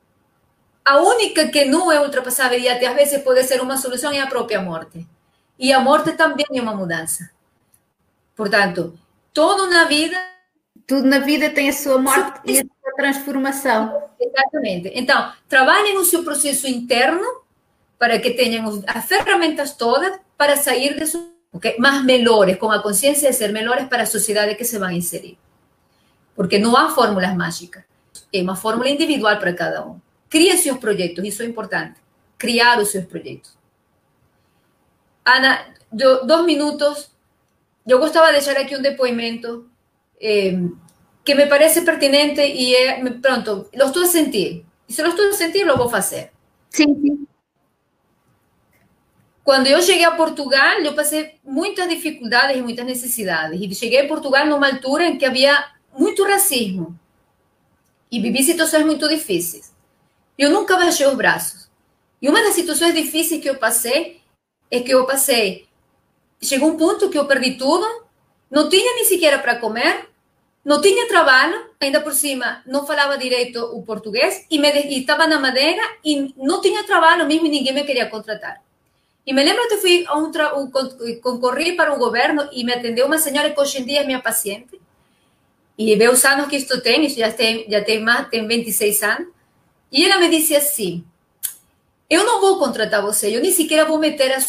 Speaker 3: a única que não é ultrapassável e até às vezes pode ser uma solução é a própria morte. E a morte também é uma mudança. Portanto, tudo na vida tem a sua morte e a sua transformação. Exatamente. Então, trabalhem o seu processo interno para que tenham as ferramentas todas para sair disso, okay? Mas melhores, com a consciência de ser melhores para a sociedade que se vão inserir. Porque não há fórmulas mágicas. É uma fórmula individual para cada um. Crie seus projetos, isso é importante. Criar os seus projetos. Ana, 2 minutos. Eu gostava de deixar aqui um depoimento que me parece pertinente e pronto, lo estou a sentir. E se lo estou a sentir, lo vou fazer.
Speaker 2: Sim, sim.
Speaker 3: Quando eu cheguei a Portugal, eu passei muitas dificuldades e muitas necessidades. E cheguei a Portugal numa altura em que havia muito racismo. E vivi situações muito difíceis. Eu nunca baixei os braços. E uma das situações difíceis que eu passei é que chegou um ponto que eu perdi tudo, não tinha nem sequer para comer, não tinha trabalho, ainda por cima não falava direito o português e estava na Madeira e não tinha trabalho mesmo e ninguém me queria contratar. E me lembro que fui concorri para o governo e me atendeu uma senhora que hoje em dia é minha paciente. E vê os anos que isto tem, já tem 26 anos. E ela me disse assim: eu não vou contratar você, eu nem sequer vou meter a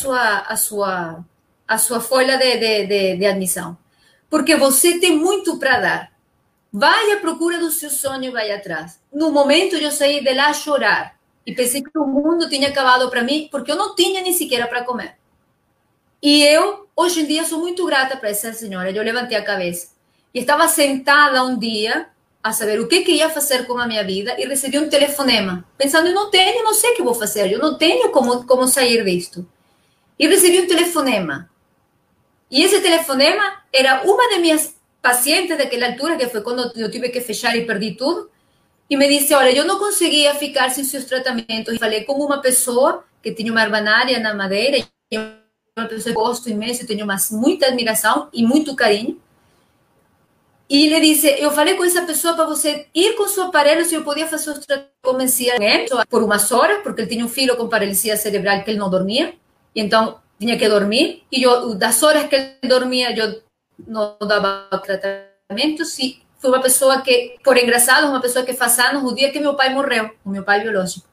Speaker 3: sua folha de admissão. Porque você tem muito para dar. Vai à procura do seu sonho e vai atrás. No momento, eu saí de lá a chorar. E pensei que o mundo tinha acabado para mim, porque eu não tinha nem sequer para comer. E eu, hoje em dia, sou muito grata para essa senhora. Eu levantei a cabeça. E estava sentada um dia a saber o que ia fazer com a minha vida e recebi um telefonema. Pensando, eu não sei o que vou fazer. Eu não tenho como sair disto. E recebi um telefonema. E esse telefonema era uma de minhas pacientes daquela altura, que foi quando eu tive que fechar e perdi tudo, e me disse: olha, eu não conseguia ficar sem seus tratamentos. E falei com uma pessoa que tinha uma herbanária na Madeira, e uma pessoa que eu gosto imenso, tenho muita admiração e muito carinho. E ele disse: eu falei com essa pessoa para você ir com seu aparelho, se eu podia fazer os tratamentos. Comecei por umas horas, porque ele tinha um filho com paralisia cerebral que ele não dormia, e então tinha que dormir, e das horas que ele dormia, eu não dava tratamento. E foi uma pessoa que, por engraçado, uma pessoa que faz anos, o dia que meu pai morreu, o meu pai biológico.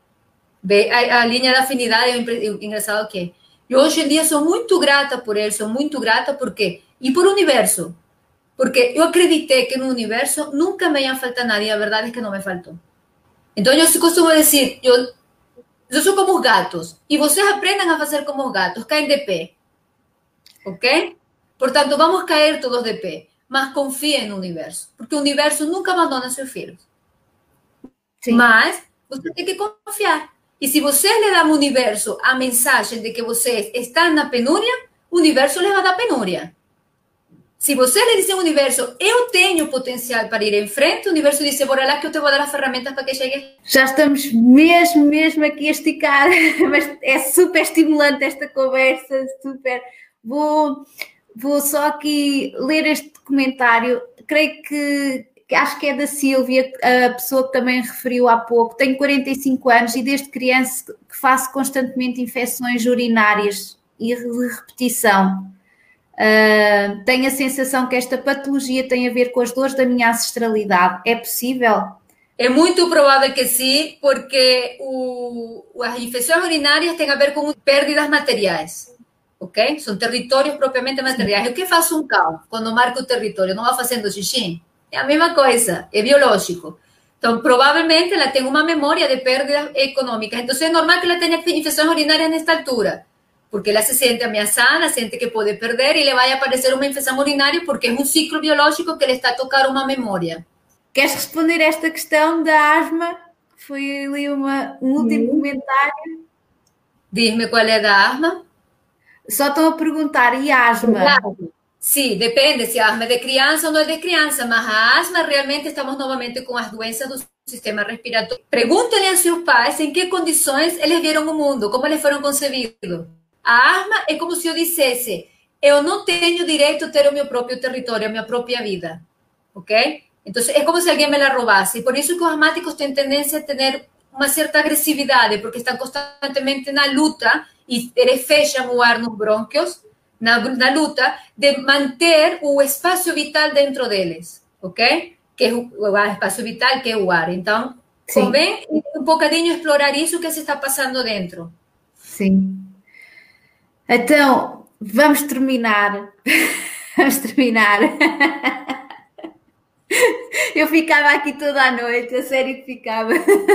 Speaker 3: A linha da afinidade é engraçado que é. E hoje em dia sou muito grata por ele, sou muito grata porque, e por o universo, porque eu acreditei que no universo nunca me ia faltar nada, e a verdade é que não me faltou. Então eu costumo dizer, eu sou como os gatos, e vocês aprendam a fazer como os gatos, caem de pé, ok? Portanto, vamos cair todos de pé. mas confiem no universo, porque o universo nunca abandona seus filhos.
Speaker 2: Sim.
Speaker 3: Mas você tem que confiar. E se você lhe dá ao universo a mensagem de que você está na penúria, o universo lhe vai dar penúria. Se você lhe diz ao universo, eu tenho potencial para ir em frente, o universo diz, bora lá que eu te vou dar as ferramentas para que chegue.
Speaker 2: Já estamos mesmo aqui a esticar, mas é super estimulante esta conversa, super. Vou só aqui ler este comentário, creio que acho que é da Sílvia, a pessoa que também referiu há pouco. Tenho 45 anos e desde criança que faço constantemente infecções urinárias e de repetição. Tenho a sensação que esta patologia tem a ver com as dores da minha ancestralidade. É possível?
Speaker 3: É muito provável que sim, porque as infecções urinárias têm a ver com pérdidas materiais. Ok? São territórios propriamente materiais. O que faz um cão quando marca o território? Não vai fazendo xixi? É a mesma coisa, é biológico. Então, provavelmente, ela tem uma memória de perdas econômicas. Então, é normal que ela tenha infecções urinárias nesta altura, porque ela se sente ameaçada, sente que pode perder e lhe vai aparecer uma infecção urinária porque é um ciclo biológico que lhe está a tocar uma memória.
Speaker 2: Queres responder esta questão da asma? Foi ali um último comentário.
Speaker 3: Diz-me qual é da asma.
Speaker 2: Só estão a perguntar, e a asma?
Speaker 3: Sim, depende se a asma é de criança ou não é de criança, mas a asma realmente estamos novamente com as doenças do sistema respiratório. Perguntem a seus pais em que condições eles vieram o mundo, como eles foram concebidos. A asma é como se eu dissesse, eu não tenho direito a ter o meu próprio território, a minha própria vida, ok? Então, é como se alguém me la roubasse. E por isso que os asmáticos têm tendência a ter uma certa agressividade, porque estão constantemente na luta e eles fecham o ar nos brônquios, na luta de manter o espaço vital dentro deles, ok? Que é o espaço vital, que é o ar. Então, convém um bocadinho explorar isso que se está passando dentro.
Speaker 2: Sim. Então, vamos terminar. Vamos terminar. Eu ficava aqui toda a noite, a sério que ficava.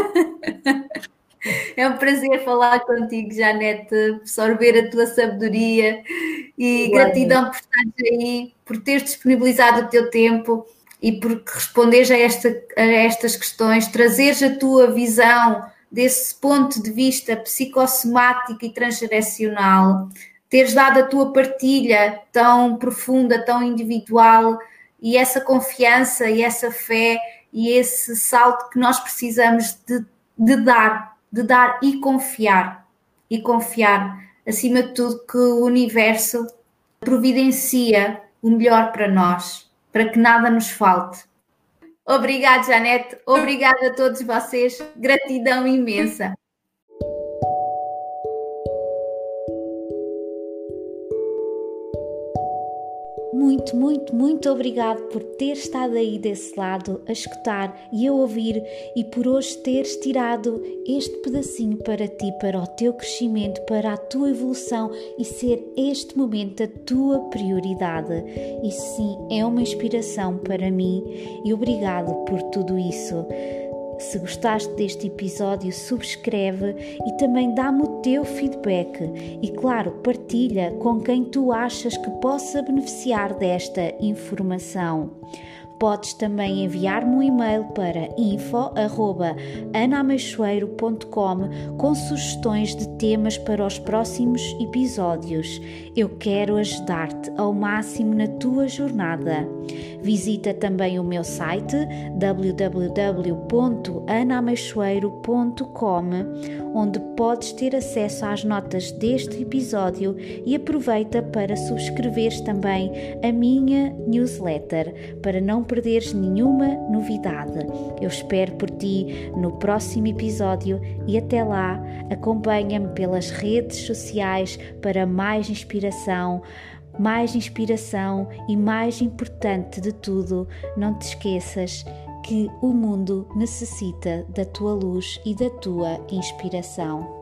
Speaker 2: É um prazer falar contigo, Janete, absorver a tua sabedoria e gratidão por estares aí, por teres disponibilizado o teu tempo e por responderes a estas questões, trazeres a tua visão desse ponto de vista psicossomático e transgeracional, teres dado a tua partilha tão profunda, tão individual e essa confiança e essa fé e esse salto que nós precisamos de dar e confiar, acima de tudo, que o universo providencia o melhor para nós, para que nada nos falte. Obrigada, Janete, obrigada a todos vocês, gratidão imensa.
Speaker 1: Muito obrigado por ter estado aí desse lado a escutar e a ouvir e por hoje teres tirado este pedacinho para ti, para o teu crescimento, para a tua evolução e ser este momento a tua prioridade. Isso sim é uma inspiração para mim e obrigado por tudo isso. Se gostaste deste episódio, subscreve e também dá-me o teu feedback. E claro, partilha com quem tu achas que possa beneficiar desta informação. Podes também enviar-me um e-mail para info@anameixoeiro.com com sugestões de temas para os próximos episódios. Eu quero ajudar-te ao máximo na tua jornada. Visita também o meu site www.anameixoeiro.com, onde podes ter acesso às notas deste episódio e aproveita para subscreveres também a minha newsletter para não perderes nenhuma novidade. Eu espero por ti no próximo episódio e até lá acompanha-me pelas redes sociais para mais inspiração e mais importante de tudo, não te esqueças que o mundo necessita da tua luz e da tua inspiração.